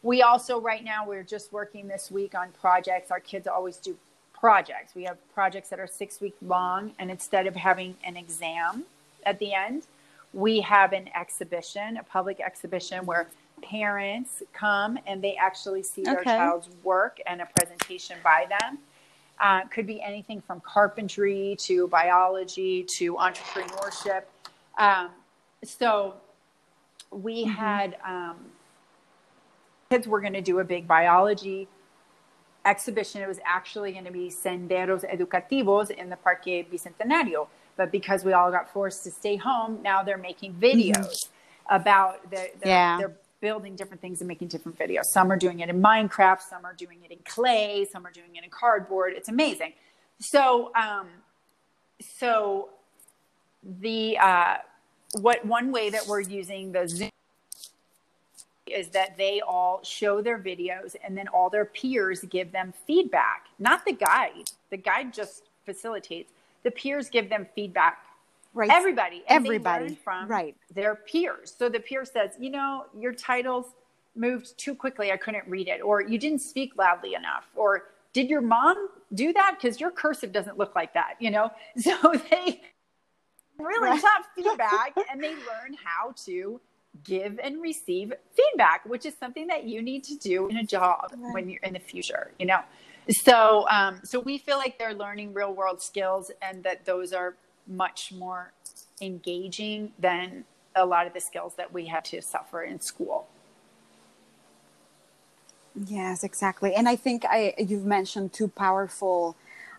we also, right now, we're just working this week on projects. Our kids always do projects. We have projects that are six weeks long, and instead of having an exam at the end, we have an exhibition, a public exhibition where parents come and they actually see their Okay. child's work and a presentation by them. Uh, could be anything from carpentry to biology to entrepreneurship. Um, so we Mm-hmm. had um, kids were going to do a big biology exhibition. It was actually going to be Senderos Educativos in the Parque Bicentenario. But because we all got forced to stay home, now they're making videos mm-hmm. about the, the Yeah. they're building different things and making different videos. Some are doing it in Minecraft, some are doing it in clay, some are doing it in cardboard. It's amazing. So, um, so the uh, what one way that we're using the Zoom is that they all show their videos and then all their peers give them feedback. Not the guide. The guide just facilitates. The peers give them feedback. Right. Everybody. And Everybody. They learn from right. their peers. So the peer says, you know, your titles moved too quickly. I couldn't read it. Or you didn't speak loudly enough. Or did your mom do that? Because your cursive doesn't look like that, you know? So they really Right. tough feedback and they learn how to give and receive feedback, which is something that you need to do in a job right. when you're in the future, you know? So, um, so we feel like they're learning real world skills and that those are much more engaging than a lot of the skills that we had to suffer in school. Yes, exactly. And I think I, you've mentioned two powerful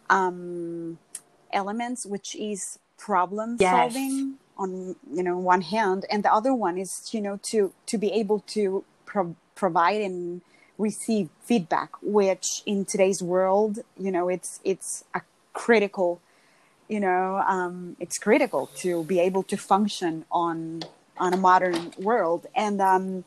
um, elements, which is problem yes. solving on, you know, one hand, and the other one is, you know, to, to be able to pro- provide and receive feedback, which in today's world, you know, it's, it's a critical, you know, um, it's critical to be able to function on, on a modern world. And, um,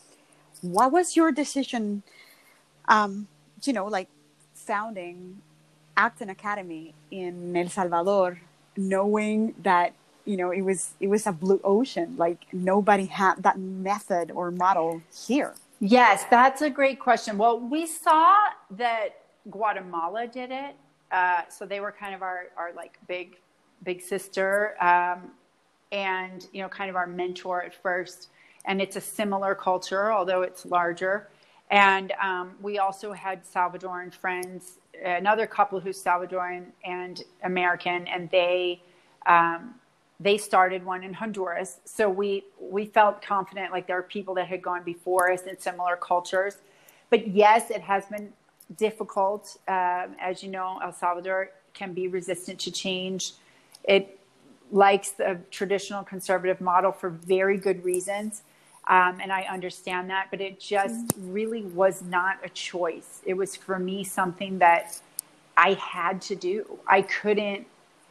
what was your decision, um, you know, like founding Acton Academy in El Salvador, knowing that, you know, it was, it was a blue ocean, like nobody had that method or model here? Yes, that's a great question. Well, we saw that Guatemala did it. Uh, so they were kind of our, our like big, big sister, um, and, you know, kind of our mentor at first. And it's a similar culture, although it's larger. And um, we also had Salvadoran friends, another couple who's Salvadoran and American, and they um, they started one in Honduras. So we we felt confident, like there are people that had gone before us in similar cultures. But yes, it has been difficult. Um, as you know, El Salvador can be resistant to change. It likes the traditional conservative model for very good reasons. Um, and I understand that, but it just really was not a choice. It was for me something that I had to do. I couldn't,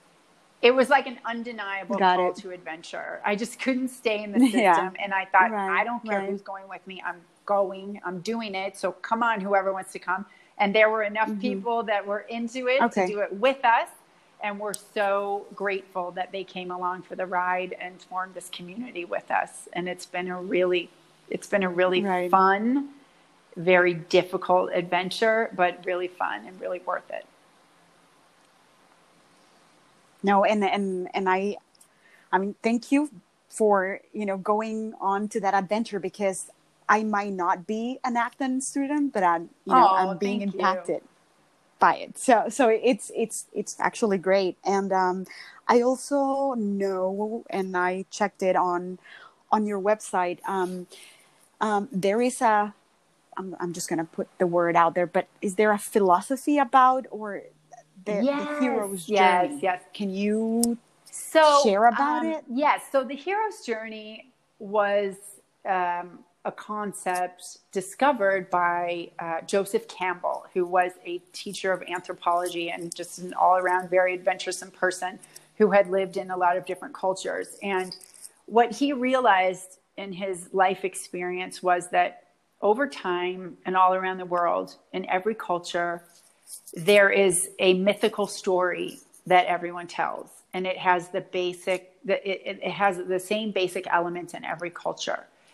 it was like an undeniable Got call it. to adventure. I just couldn't stay in the system. Yeah. And I thought, Right, I don't care right. who's going with me. I'm going, I'm doing it. So come on, whoever wants to come. And there were enough Mm-hmm. people that were into it Okay. to do it with us. And we're so grateful that they came along for the ride and formed this community with us. And it's been a really, it's been a really Right. fun, very difficult adventure, but really fun and really worth it. No, and, and, and I, I mean, thank you for, you know, going on to that adventure, because I might not be an Acton student, but I'm, you know, Oh, I'm being thank you. impacted by it. So, so it's, it's, it's actually great. And, um, I also know, and I checked it on, on your website. Um, um, there is a, I'm, I'm just going to put the word out there, but is there a philosophy about, or the, Yes, the hero's yes, journey? yes. Can you So share about um, it? Yes. So the hero's journey was um, a concept discovered by uh, Joseph Campbell, who was a teacher of anthropology and just an all-around very adventuresome person who had lived in a lot of different cultures. And what he realized in his life experience was that over time and all around the world, in every culture, there is a mythical story that everyone tells. And it has the basic, the, it, it has the same basic elements in every culture.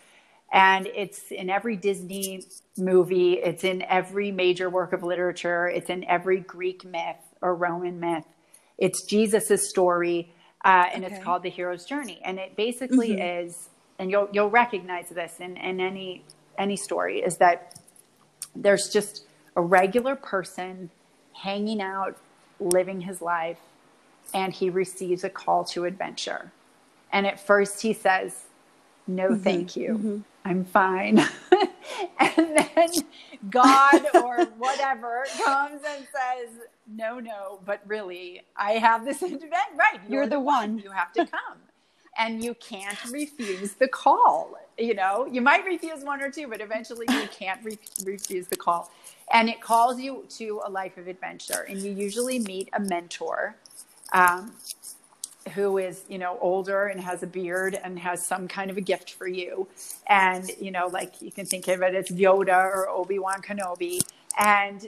And it's in every Disney movie. It's in every major work of literature. It's in every Greek myth or Roman myth. It's Jesus's story, uh, and okay. It's called The Hero's Journey. And it basically mm-hmm. is, and you'll you'll recognize this in, in any any story, is that there's just a regular person hanging out, living his life, and he receives a call to adventure. And at first he says, no, mm-hmm. thank you. Mm-hmm. I'm fine. And then God or whatever comes and says, no, no, but really, I have this event. Right. You're, you're the, the one. one. You have to come. And you can't refuse the call. You know, you might refuse one or two, but eventually you can't re- refuse the call. And it calls you to a life of adventure. And you usually meet a mentor um, who is, you know, older and has a beard and has some kind of a gift for you. And, you know, like you can think of it as Yoda or Obi-Wan Kenobi. And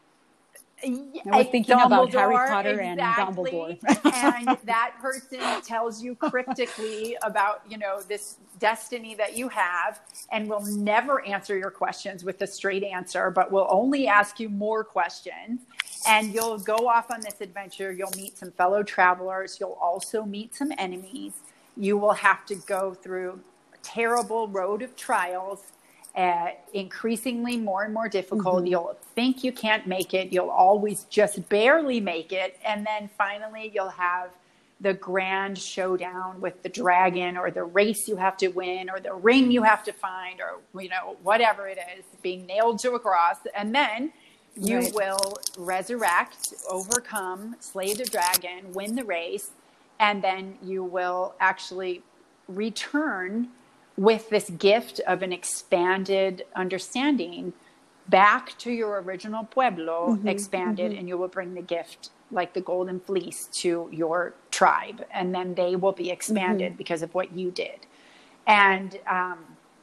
I was thinking about Harry Potter exactly. and Dumbledore. And that person tells you cryptically about, you know, this destiny that you have, and will never answer your questions with a straight answer, but will only ask you more questions. And you'll go off on this adventure. You'll meet some fellow travelers. You'll also meet some enemies. You will have to go through a terrible road of trials. Uh, increasingly more and more difficult. Mm-hmm. You'll think you can't make it. You'll always just barely make it. And then finally you'll have the grand showdown with the dragon, or the race you have to win, or the ring you have to find, or, you know, whatever it is, being nailed to a cross. And then you right. will resurrect, overcome, slay the dragon, win the race. And then you will actually return with this gift of an expanded understanding back to your original pueblo, mm-hmm, expanded, mm-hmm. and you will bring the gift, like the golden fleece, to your tribe. And then they will be expanded mm-hmm. because of what you did. And um,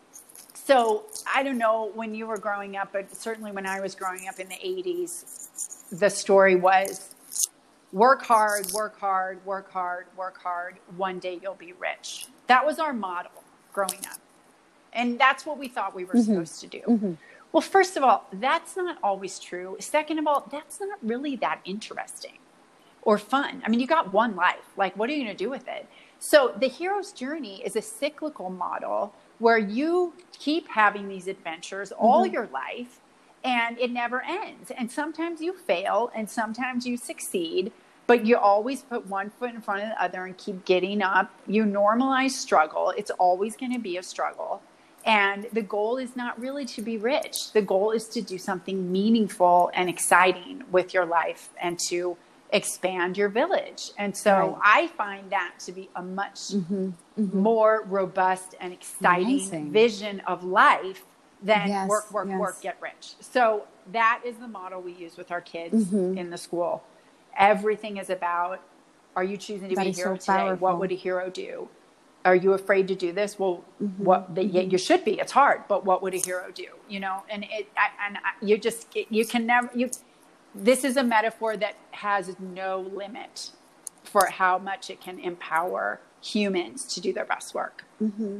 so I don't know when you were growing up, but certainly when I was growing up in the eighties, the story was work hard, work hard, work hard, work hard. One day you'll be rich. That was our model growing up. And that's what we thought we were mm-hmm. supposed to do. Mm-hmm. Well, first of all, that's not always true. Second of all, that's not really that interesting or fun. I mean, you got one life. Like, what are you going to do with it? So the hero's journey is a cyclical model where you keep having these adventures mm-hmm. all your life, and it never ends. And sometimes you fail and sometimes you succeed, but you always put one foot in front of the other and keep getting up. You normalize struggle. It's always going to be a struggle. And the goal is not really to be rich. The goal is to do something meaningful and exciting with your life and to expand your village. And so right. I find that to be a much mm-hmm. Mm-hmm. more robust and exciting Amazing. vision of life than yes. work, work, yes. work, get rich. So that is the model we use with our kids mm-hmm. in the school. Everything is about, are you choosing to that be a hero so today? Powerful. What would a hero do? Are you afraid to do this? Well, mm-hmm. what the, mm-hmm. you should be. It's hard, but what would a hero do? You know, and it, I, and I, you just, you can never, you, this is a metaphor that has no limit for how much it can empower humans to do their best work. Mm-hmm.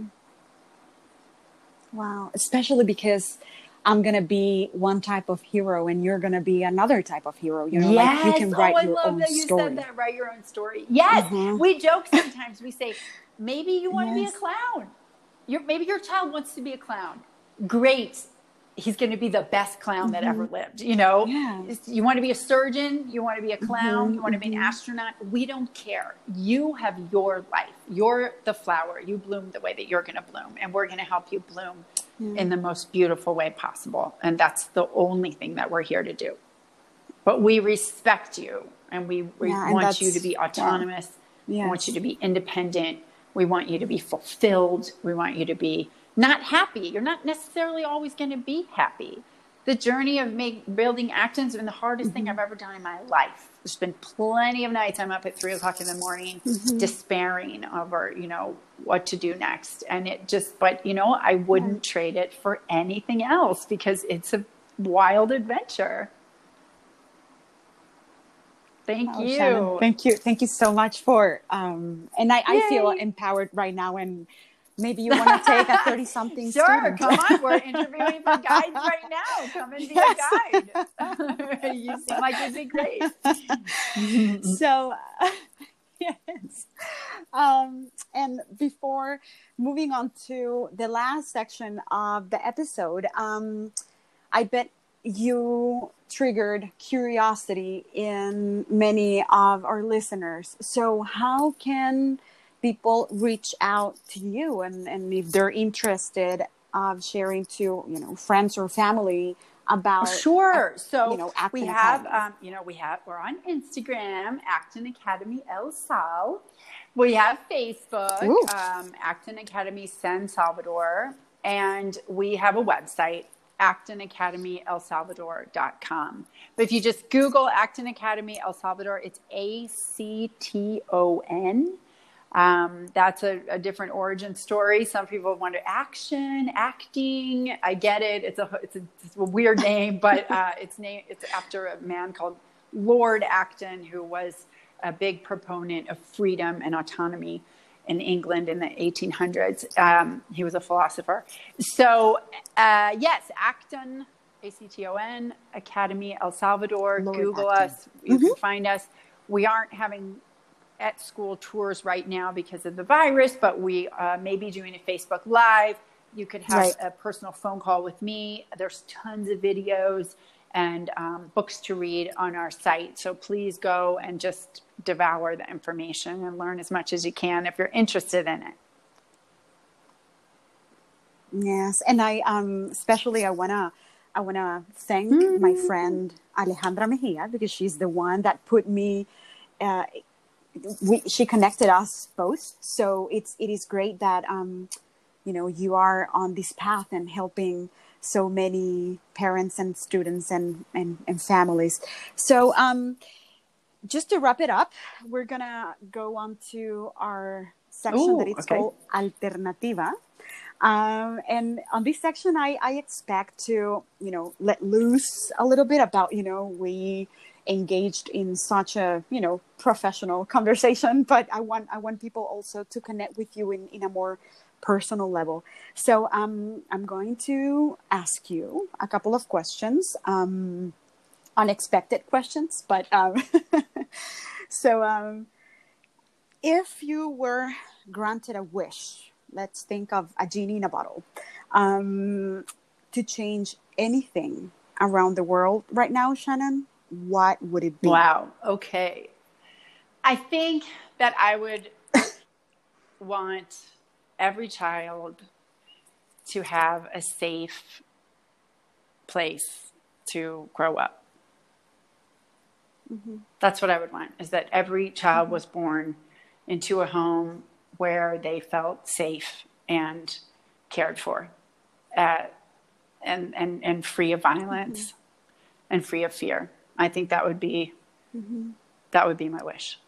Wow. Especially because I'm going to be one type of hero and you're going to be another type of hero. You know, yes. like you can write oh, I your love own that you story. said that. Write your own story. Yes. Mm-hmm. We joke sometimes. We say, maybe you want yes. to be a clown. You're, maybe your child wants to be a clown. Great. He's going to be the best clown mm-hmm. that ever lived. You know, yeah. You want to be a surgeon. You want to be a clown. Mm-hmm. You want to be an astronaut. We don't care. You have your life. You're the flower. You bloom the way that you're going to bloom. And we're going to help you bloom yeah. in the most beautiful way possible. And that's the only thing that we're here to do. But we respect you. And we, we yeah, want you to be autonomous. Yeah. Yes. We want you to be independent. We want you to be fulfilled. We want you to be not happy. You're not necessarily always going to be happy. The journey of make, building Acton has been the hardest mm-hmm. thing I've ever done in my life. There's been plenty of nights I'm up at three o'clock in the morning, mm-hmm. despairing over, you know, what to do next. And it just, but you know, I wouldn't yeah. trade it for anything else because it's a wild adventure. Thank oh, you. Shannon, thank you. Thank you so much for, um, and I, I feel empowered right now and maybe you want to take a thirty-something sure, student. Come on. We're interviewing for guides right now. Come and be yes. a guide. You seem like you'd be great. So, uh, yes. Um, and before moving on to the last section of the episode, um, I bet you triggered curiosity in many of our listeners. So how can people reach out to you, and, and if they're interested of sharing to, you know, friends or family about sure uh, so you know, we have um, you know we have we're on Instagram, Acton Academy El Sal. We have Facebook, um, Acton Academy San Salvador, and we have a website, acton academy el salvador dot com. But if you just Google Acton Academy El Salvador, it's A C T O N. Um, that's a, a different origin story. Some people wonder, action, acting. I get it. It's a it's a, it's a weird name, but uh, it's name it's after a man called Lord Acton, who was a big proponent of freedom and autonomy in England in the eighteen hundreds. Um, he was a philosopher. So uh, yes, Acton, A C T O N, Academy El Salvador. Lord Google Acton. Us. You mm-hmm. can find us. We aren't having at school tours right now because of the virus, but we uh, may be doing a Facebook Live. You could have right. a personal phone call with me. There's tons of videos and um, books to read on our site. So please go and just devour the information and learn as much as you can if you're interested in it. Yes. And I, um, especially I want to, I want to thank mm-hmm. my friend Alejandra Mejia, because she's the one that put me, uh, We, she connected us both. So it's, it is great that, um, you know, you are on this path and helping so many parents and students and, and, and families. So, um, just to wrap it up, we're going to go on to our section Ooh, that it's okay. called Alternativa. Um, and on this section, I, I expect to, you know, let loose a little bit about, you know, we engaged in such a, you know, professional conversation, but I want, I want people also to connect with you in, in a more personal level. So, um, I'm going to ask you a couple of questions, um, unexpected questions, but, um, so, um, if you were granted a wish, let's think of a genie in a bottle, um, to change anything around the world right now, Shannon, what would it be? Wow. Okay. I think that I would want every child to have a safe place to grow up. Mm-hmm. That's what I would want, is that every child mm-hmm. was born into a home where they felt safe and cared for, uh, and, and, and free of violence mm-hmm. and free of fear. I think that would be, mm-hmm. that would be my wish.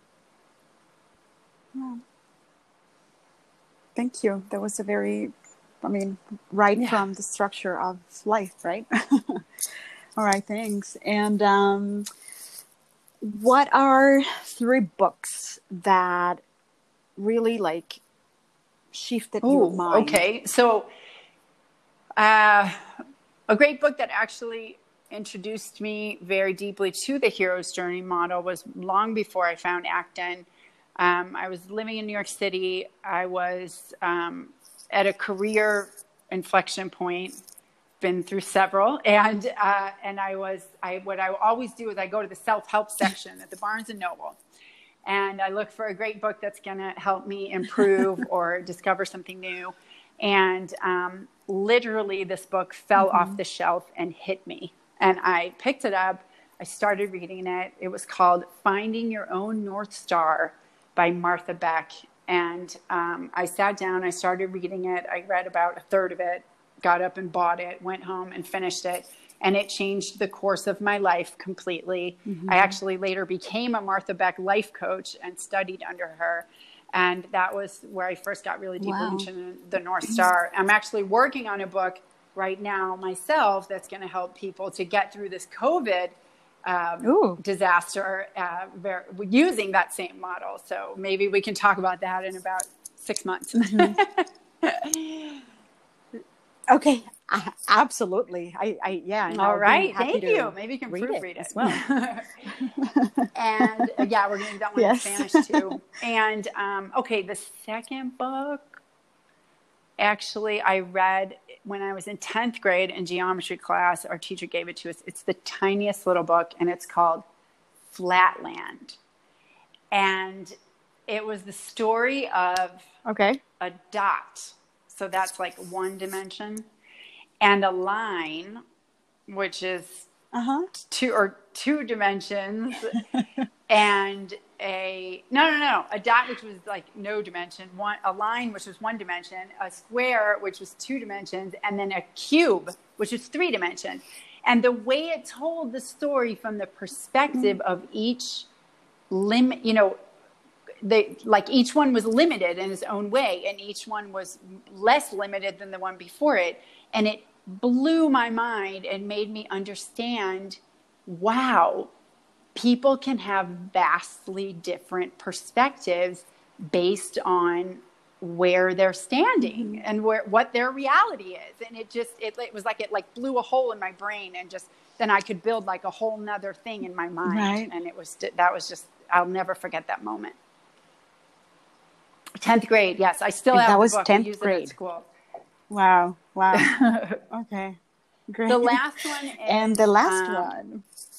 Yeah. Thank you. That was a very, I mean, right yeah. from the structure of life, right? All right, thanks. And um, what are three books that really like shifted Ooh, your mind? Okay, so uh, a great book that actually introduced me very deeply to the hero's journey model was long before I found Acton. Um, I was living in New York City. I was um, at a career inflection point, been through several, and uh, and I was I what I always do is I go to the self-help section at the Barnes and Noble, and I look for a great book that's going to help me improve or discover something new. And um, literally, this book fell mm-hmm. off the shelf and hit me. And I picked it up. I started reading it. It was called Finding Your Own North Star by Martha Beck. And um, I sat down. I started reading it. I read about a third of it, got up and bought it, went home and finished it. And it changed the course of my life completely. Mm-hmm. I actually later became a Martha Beck life coach and studied under her. And that was where I first got really deeply wow. into the North Star. I'm actually working on a book right now myself that's going to help people to get through this COVID um, disaster uh, ver- using that same model. So maybe we can talk about that in about six months. Mm-hmm. Okay, uh, absolutely. I, I yeah. And All I'll be right, happy thank to you. Maybe you can read proofread it it as well. And uh, yeah, we're going to do that one Yes. in Spanish too. And um, okay, the second book, actually, I read when I was in tenth grade in geometry class. Our teacher gave it to us. It's the tiniest little book, and it's called Flatland. And it was the story of Okay. a dot. So that's like one dimension, and a line, which is Uh-huh. two or two dimensions, and a no no no a dot, which was like no dimension, one a line, which was one dimension, a square, which was two dimensions, and then a cube, which was three dimensions. And the way it told the story from the perspective of each limit, you know, they like each one was limited in its own way, and each one was less limited than the one before it, and it blew my mind and made me understand, wow, people can have vastly different perspectives based on where they're standing mm-hmm. and where what their reality is. And it just it, it was like it like blew a hole in my brain, and just then I could build like a whole nother thing in my mind. Right. And it was that was just I'll never forget that moment. tenth grade, yes, I still have that the was book. tenth We use grade. it at school. Wow. Wow. Okay. Great. The last one is, and the last um, one.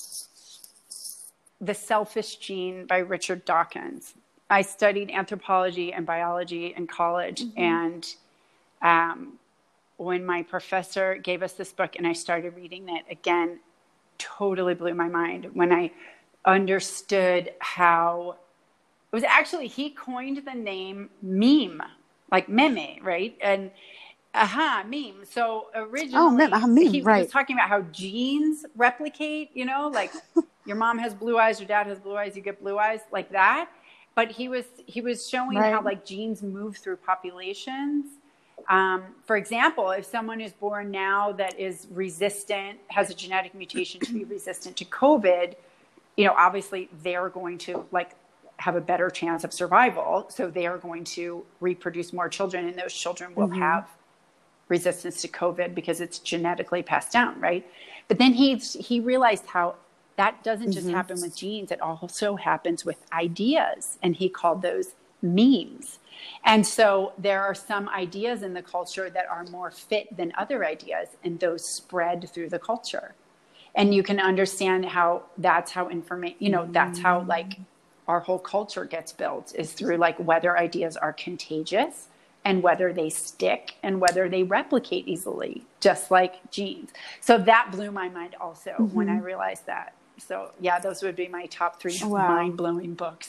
The Selfish Gene by Richard Dawkins. I studied anthropology and biology in college. Mm-hmm. And um, when my professor gave us this book and I started reading it again, totally blew my mind when I understood how it was actually, he coined the name meme, like meme, right? And aha, meme. So originally, oh, meme, uh, meme, he right. was talking about how genes replicate, you know, like your mom has blue eyes, your dad has blue eyes, you get blue eyes, like that. But he was he was showing right. how like genes move through populations. Um, for example, if someone is born now that is resistant, has a genetic mutation to be resistant to COVID, you know, obviously they're going to like have a better chance of survival. So they are going to reproduce more children, and those children will mm-hmm. have resistance to COVID because it's genetically passed down, right? But then he he realized how that doesn't just mm-hmm. happen with genes. It also happens with ideas. And he called those memes. And so there are some ideas in the culture that are more fit than other ideas, and those spread through the culture. And you can understand how that's how information, you know, mm-hmm. that's how like our whole culture gets built, is through like whether ideas are contagious and whether they stick and whether they replicate easily, just like genes. So that blew my mind also mm-hmm. when I realized that. So yeah, those would be my top three wow. mind-blowing books.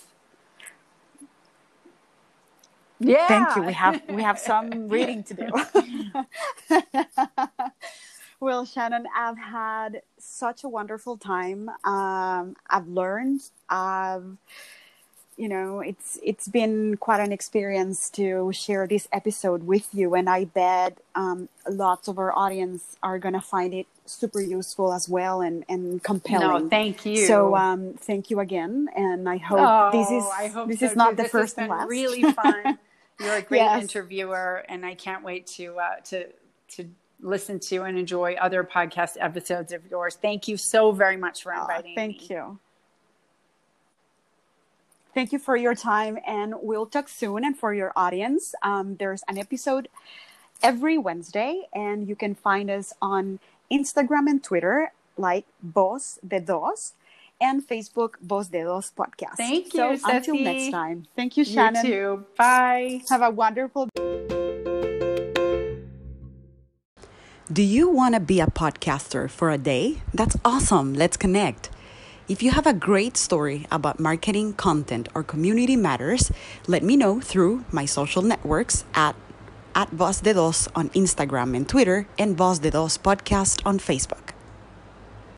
Yeah. Thank you. We have we have some reading to do. Well, Shannon, I've had such a wonderful time. Um, I've learned. I've, you know, it's it's been quite an experience to share this episode with you, and I bet um, lots of our audience are gonna find it super useful as well and, and compelling. No, thank you. So um, thank you again, and I hope oh, this is I hope this so is not too. the this first has and been last. Really fun. You're a great yes. interviewer, and I can't wait to uh, to to listen to and enjoy other podcast episodes of yours. Thank you so very much for inviting oh, thank me. Thank you. Thank you for your time, and we'll talk soon. And for your audience, um, there's an episode every Wednesday, and you can find us on Instagram and Twitter, like Voz de Dos, and Facebook, Voz de Dos Podcast. Thank you, So Ceci. Until next time. Thank you, Shannon. You too. Bye. Have a wonderful Do you want to be a podcaster for a day? That's awesome. Let's connect. If you have a great story about marketing, content, or community matters, let me know through my social networks at at Voz de Dos on Instagram and Twitter, and Voz de Dos Podcast on Facebook.